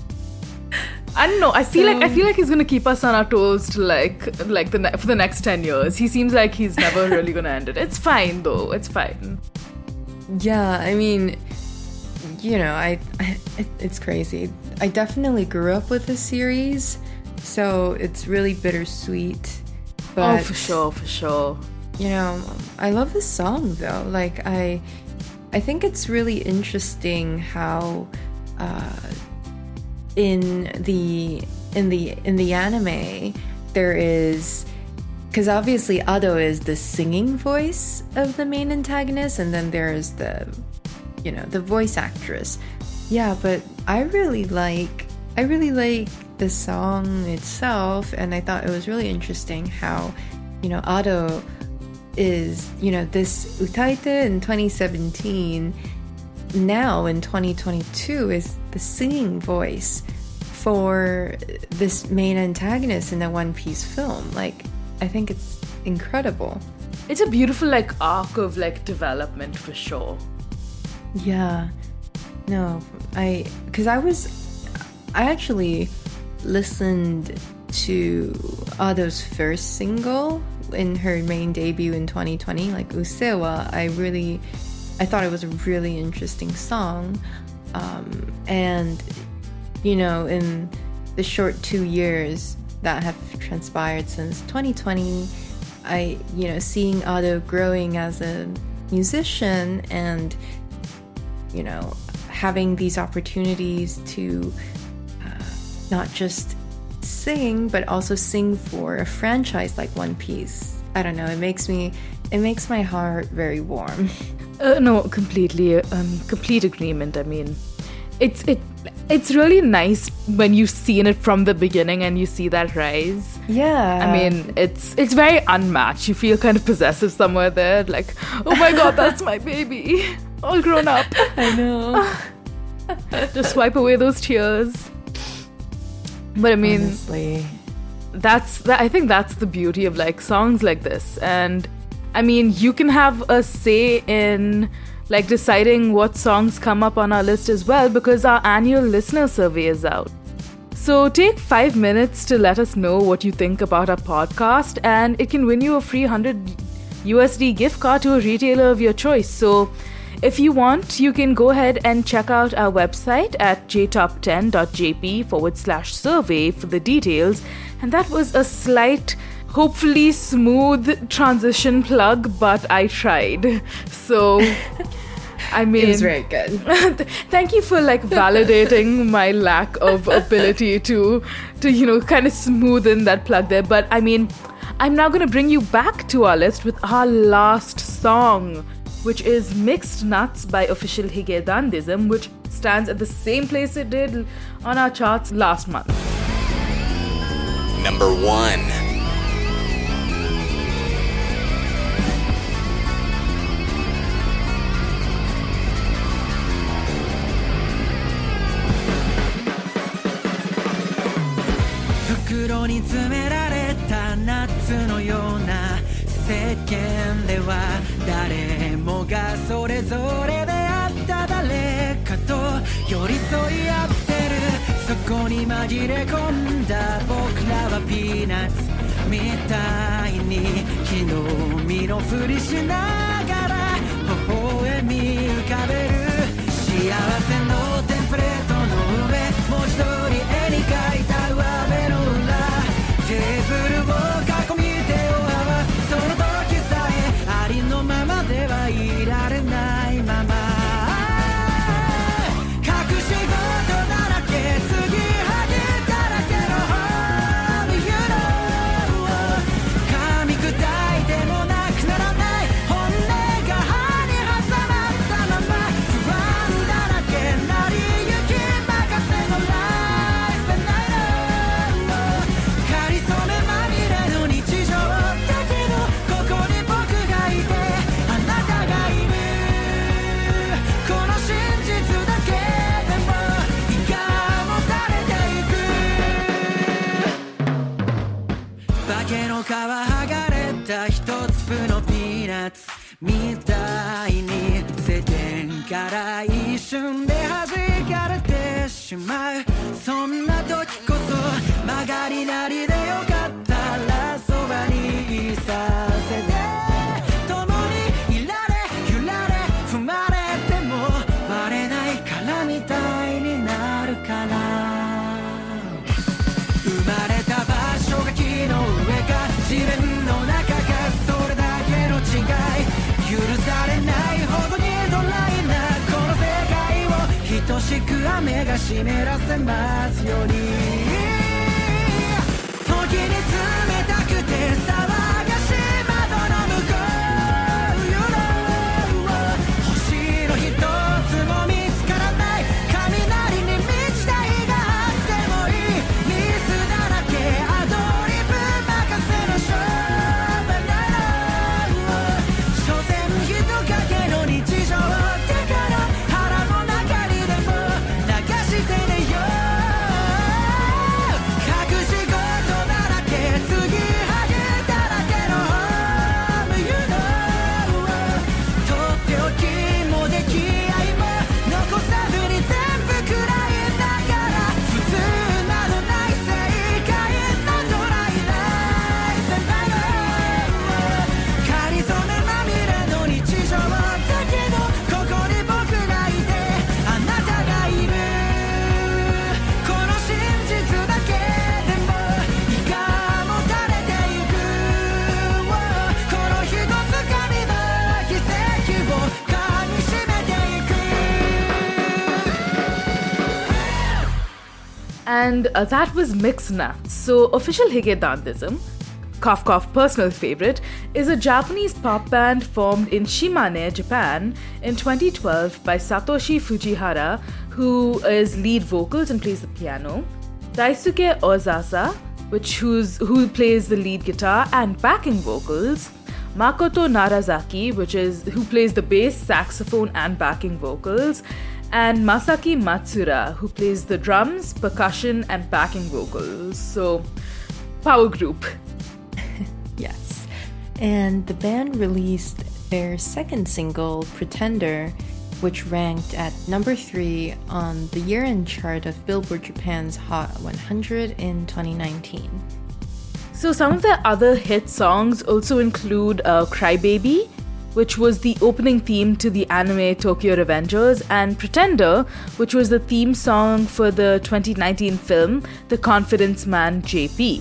I don't know. I feel So- like I feel like he's gonna keep us on our toes to like like the ne- for the next ten years. He seems like he's never really gonna end it. It's fine though. It's fine. Yeah, I mean, you know, I, I it, it's crazy. I definitely grew up with the series, so it's really bittersweet. But, oh, for sure, for sure. you know, I love this song though. Like I, I think it's really interesting how, uh, in the in the in the anime there is, because obviously Ado is the singing voice of the main antagonist, and then there's the, you know, the voice actress. Yeah, but I really like I really like the song itself, and I thought it was really interesting how, you know, Ado is, you know, this utaite in twenty seventeen, now in twenty twenty-two is the singing voice for this main antagonist in the One Piece film. Like, I think it's incredible. It's a beautiful like arc of like development for sure. Yeah. No, I, because I was, I actually listened to Ado's first single in her main debut in twenty twenty, like Usewa. I really, I thought it was a really interesting song. Um, and, you know, in the short two years that have transpired since twenty twenty, I, you know, seeing Ado growing as a musician and, you know, having these opportunities to uh, not just sing, but also sing for a franchise like One Piece. I don't know, it makes me, it makes my heart very warm. Uh, no, completely, um, complete agreement. I mean, it's it, it's really nice when you've seen it from the beginning and you see that rise. Yeah. I mean, it's it's very unmatched. You feel kind of possessive somewhere there, like, oh my god, that's my baby, all grown up. I know. Just wipe away those tears. But I mean, honestly, that's that. I think that's the beauty of like songs like this. And I mean, you can have a say in like deciding what songs come up on our list as well, because our annual listener survey is out. So take five minutes to let us know what you think about our podcast, and it can win you a free one hundred U S D gift card to a retailer of your choice. So if you want, you can go ahead and check out our website at j top ten dot j p forward slash survey for the details. And that was a slight, hopefully smooth transition plug, but I tried. So, I mean... It was very good. Thank you for like validating my lack of ability to, to, you know, kind of smoothen that plug there. But I mean, I'm now going to bring you back to our list with our last song, which is Mixed Nuts by Official Hige Dandism, which stands at the same place it did on our charts last month. Number one. 袋に詰められた夏のような世間では誰もがそれぞれであった誰かと寄り添い合ってるそこに紛れ込んだ僕らはピーナッツみたいに昨日身のふりしながら微笑み浮かべる幸せのテンプレートの上文字通り絵に描いた上辺の裏テーブルを囲み手を合わすその時さえありのままではいられないまま隠し事だらけ継ぎはぎだらけの Home You know 噛み砕いてもなくならない本音が歯に挟まったまま不安だらけなりゆき任せのライフナイトかりそめまみれの日常だけどここに僕がいてあなたがいるこの真実だけでも胃がもたれていく化けの皮剥がれた一粒のピーナッツみたいに世間から一瞬で弾かれてしまうそんな時こそ曲がりなりでよかったらそばにいさせて共にいられ揺られ踏まれても割れないからみたいになるから生まれた場所が木の上か地面の中かそれだけの違い許されないほどにドライなこの世界を等しく雨が湿らせますように時に冷たくて騒がしい窓の向こう You know 星の一つも見つからない雷に満ちた日があってもいいミスだらけアドリブ任せの勝負なら所詮人影の日常だから腹の中にでも流してねよ隠し事だらけ継 And uh, that was Mixed Nuts. So, Official Hige Dandism, cough cough personal favorite, is a Japanese pop band formed in Shimane, Japan in twenty twelve by Satoshi Fujihara, who is lead vocals and plays the piano, Daisuke Ozasa, which who's, who plays the lead guitar and backing vocals, Makoto Narazaki, which is who plays the bass, saxophone and backing vocals, and Masaki Matsura, who plays the drums, percussion and backing vocals. So, power group. Yes. And the band released their second single, Pretender, which ranked at number three on the year-end chart of Billboard Japan's Hot one hundred in twenty nineteen. So some of their other hit songs also include uh, Crybaby, which was the opening theme to the anime Tokyo Revengers, and Pretender, which was the theme song for the twenty nineteen film The Confidence Man J P.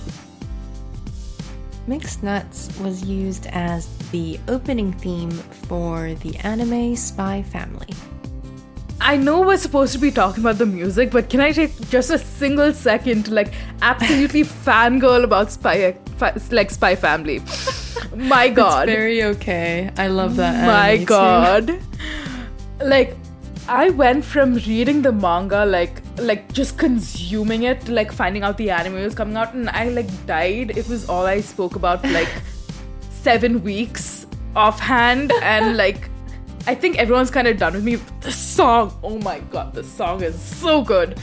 Mixed Nuts was used as the opening theme for the anime Spy Family. I know we're supposed to be talking about the music, but can I take just a single second to like absolutely fangirl about Spy, fi- like Spy Family? My God. It's very okay. I love that. My God. Too. Like, I went from reading the manga, like, like just consuming it, to like finding out the anime was coming out, and I like died. It was all I spoke about for like seven weeks offhand, and like, I think everyone's kind of done with me. The song, oh my God, the song is so good.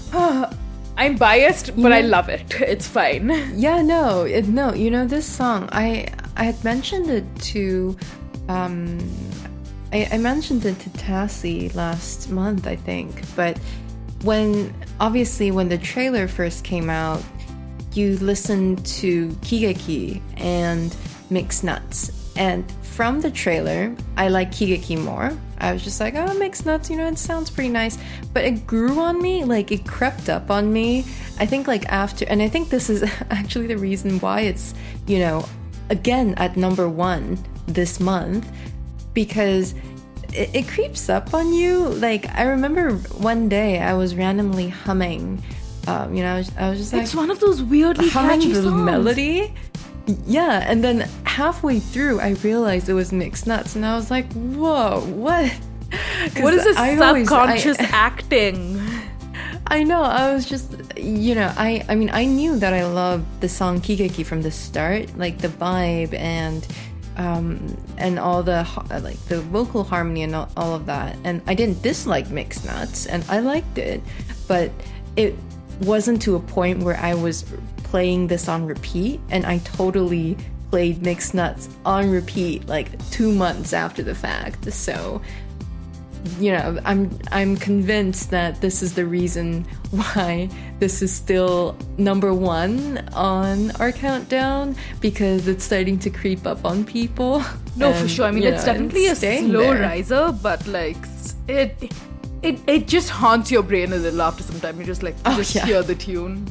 I'm biased, but yeah. I love it. It's fine. Yeah, no, it, no. You know, this song, I I had mentioned it to, um, I, I mentioned it to Tassie last month, I think. But when, obviously, when the trailer first came out, you listened to Kigeki and Mixed Nuts. And from the trailer, I like Kigeki more. I was just like, oh, Mixed Nuts, you know, it sounds pretty nice. But it grew on me, like it crept up on me. I think like after, and I think this is actually the reason why it's, you know, again at number one this month, because it, it creeps up on you. Like I remember one day I was randomly humming, um, you know, I was, I was just like, it's one of those weirdly humming catchy the songs. melody. Yeah, and then halfway through, I realized it was Mixed Nuts, and I was like, "Whoa, what? What is this I subconscious always, I, acting?" I know. I was just, you know, I, I mean, I knew that I loved the song Kigeki from the start, like the vibe and, um, and all the like the vocal harmony and all, all of that. And I didn't dislike Mixed Nuts, and I liked it, but it wasn't to a point where I was playing this on repeat, and I totally played Mixed Nuts on repeat like two months after the fact. So, you know, I'm I'm convinced that this is the reason why this is still number one on our countdown, because it's starting to creep up on people. No, and, for sure. I mean, it's know, definitely a slow there. riser, but like it, it, it just haunts your brain a little after some time. You just like you Oh, just yeah. hear the tune.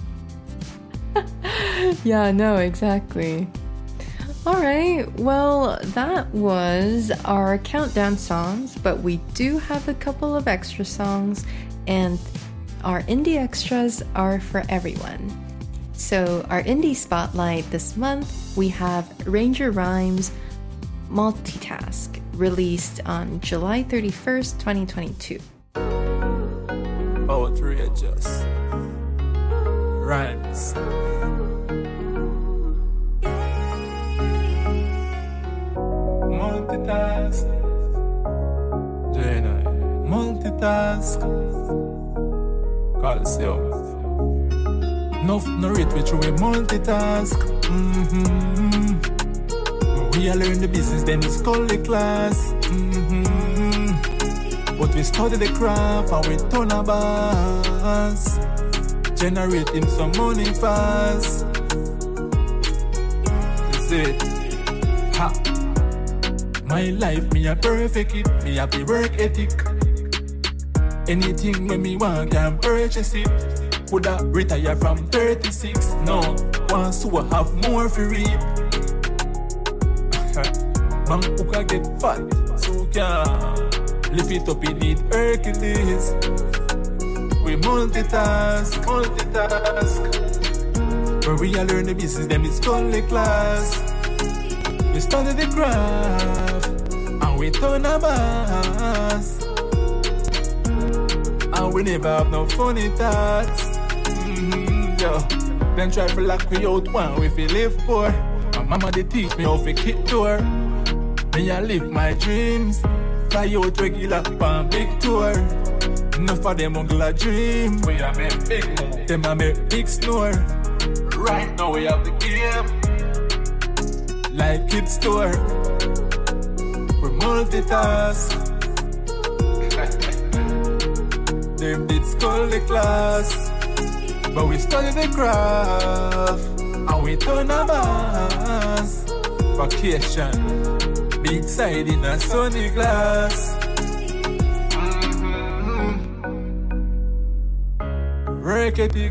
Yeah, no, exactly. All right, well, that was our countdown songs, but we do have a couple of extra songs, and our indie extras are for everyone. So, our indie spotlight this month, we have Ranger Rhymes Multitask, released on July thirty-first, twenty twenty-two. Outrageous Rhymes. Multitask. Jenna. Multitask. Calcium. Enough no rate which we multitask. Mm-hmm. We are learn the business, then it's called the class. Mm-hmm. But we study the craft and we turn our boss. Generating some money fast. Is it? Ha! My life, me a perfect it. Me have the work ethic. Anything when me want, can purchase it. Coulda retire from thirty-six. No, once who have more for reap. Man who can get fat, so can lift it up, it need Hercules. we multitask, multitask. Where we are learn the business, them is only class. We study the craft, and we turn our backs. And we never have no funny thoughts. Mm-hmm, yo. Then try to lock me out one if we live poor. My mama they teach me how to kick door. Me I live my dreams. Fly out regular on big tour. Enough of them uncle a dream. We are make big move. Them a make big snore. Right now we have the game. Like kids store. We multitask. Them did skull the class. But we study the craft. And we turn our backs. Vacation. Big side in a sunny glass. Mm-hmm. Break it,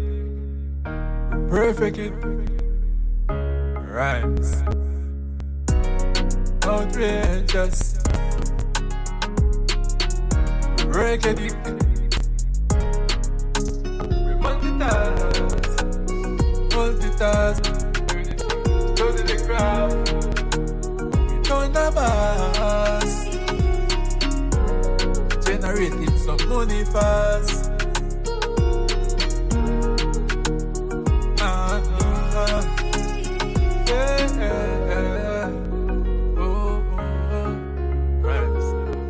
perfect it, rhymes, outrageous. Break it, we multitask, multitask, study the craft. On the bus, generating some money fast. Uh-huh. Yeah, yeah. Oh, oh, oh. Right.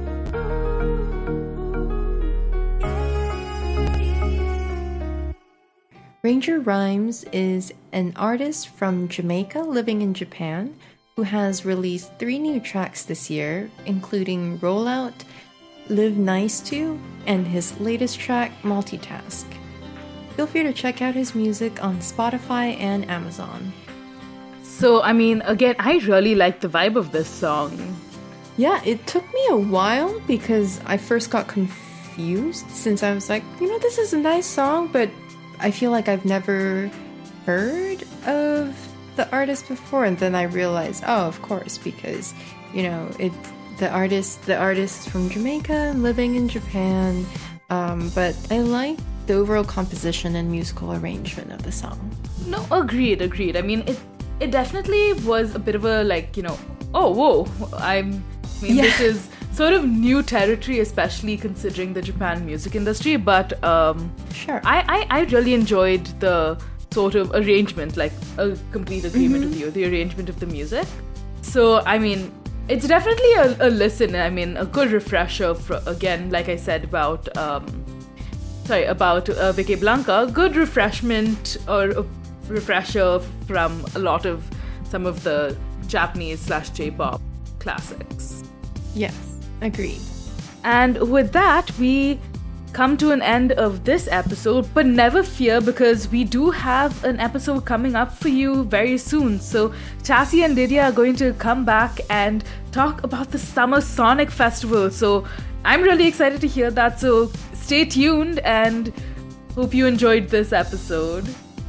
Ranger Rhymes is an artist from Jamaica living in Japan who has released three new tracks this year, including Rollout, Live Nice To, and his latest track, Multitask. Feel free to check out his music on Spotify and Amazon. So, I mean, again, I really like the vibe of this song. Yeah, it took me a while because I first got confused since I was like, you know, this is a nice song, but I feel like I've never heard of the artist before, and then I realized, oh, of course, because you know it. The artist, the artist is from Jamaica, living in Japan. Um, but I like the overall composition and musical arrangement of the song. No, agreed, agreed. I mean, it it definitely was a bit of a like, you know, oh, whoa. I'm, I mean, Yeah. this is sort of new territory, especially considering the Japan music industry. But um, Sure. I, I I really enjoyed the sort of arrangement, like a complete agreement with you, the arrangement of the music. So, I mean, it's definitely a, a listen. I mean, a good refresher, for, again, like I said about, um, sorry, about uh, Vicky Blanca, good refreshment or a refresher from a lot of some of the Japanese slash J-pop classics. Yes, agreed. And with that, we come to an end of this episode, but never fear, because we do have an episode coming up for you very soon. So Chassie and Lydia are going to come back and talk about the Summer Sonic Festival. So I'm really excited to hear that. So stay tuned and hope you enjoyed this episode.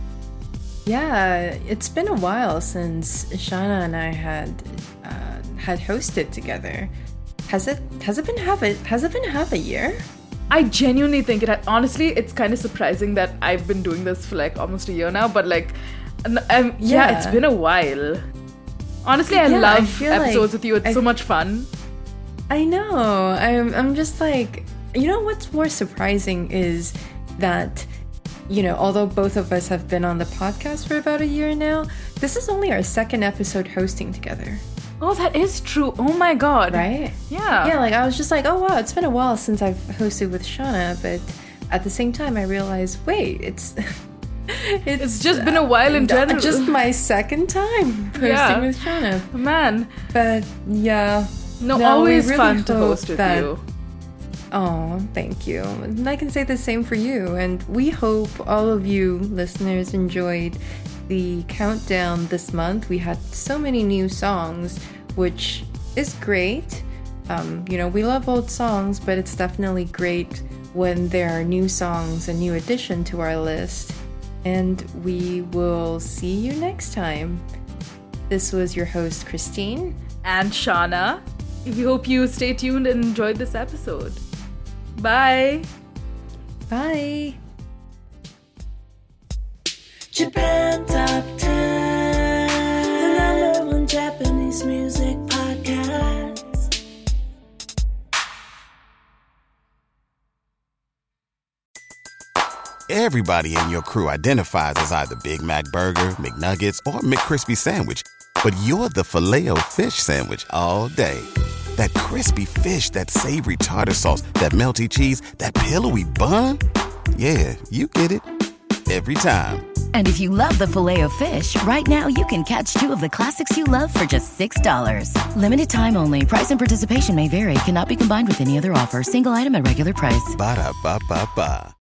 Yeah, it's been a while since Shauna and I had uh, had hosted together. Has it has it been half a has it been half a year? I genuinely think it. Honestly, it's kind of surprising that I've been doing this for like almost a year now. But like, um, yeah, Yeah. it's been a while. Honestly, I Yeah, I love feel episodes like with you. It's I- so much fun. I know. I'm I'm just like, you know what's more surprising is that, you know, although both of us have been on the podcast for about a year now, this is only our second episode hosting together, Oh, that is true. Oh my god. right? Yeah. Yeah, like I was just like, oh wow, it's been a while since I've hosted with Shauna, but at the same time I realized, wait, it's it's, It's just been a while in uh, general. just my second time hosting Yeah. with Shauna. Man. But yeah. No, we always really fun to hope host with that- you. Oh, thank you. And I can say the same for you. And we hope all of you listeners enjoyed the countdown this month. We had so many new songs, which is great. Um, you know, we love old songs, but it's definitely great when there are new songs, a new addition to our list. And we will see you next time. This was your host, Christine. And Shauna. We hope you stay tuned and enjoyed this episode. Bye. Bye! Japan Top ten, the number one Japanese music podcast. Everybody in your crew identifies as either Big Mac Burger, McNuggets, or McCrispy Sandwich. But you're the Filet-O-Fish Sandwich all day. That crispy fish, that savory tartar sauce, that melty cheese, that pillowy bun. Yeah, you get it. Every time. And if you love the Filet-O-Fish, right now you can catch two of the classics you love for just six dollars. Limited time only. Price and participation may vary. Cannot be combined with any other offer. Single item at regular price. Ba-da-ba-ba-ba.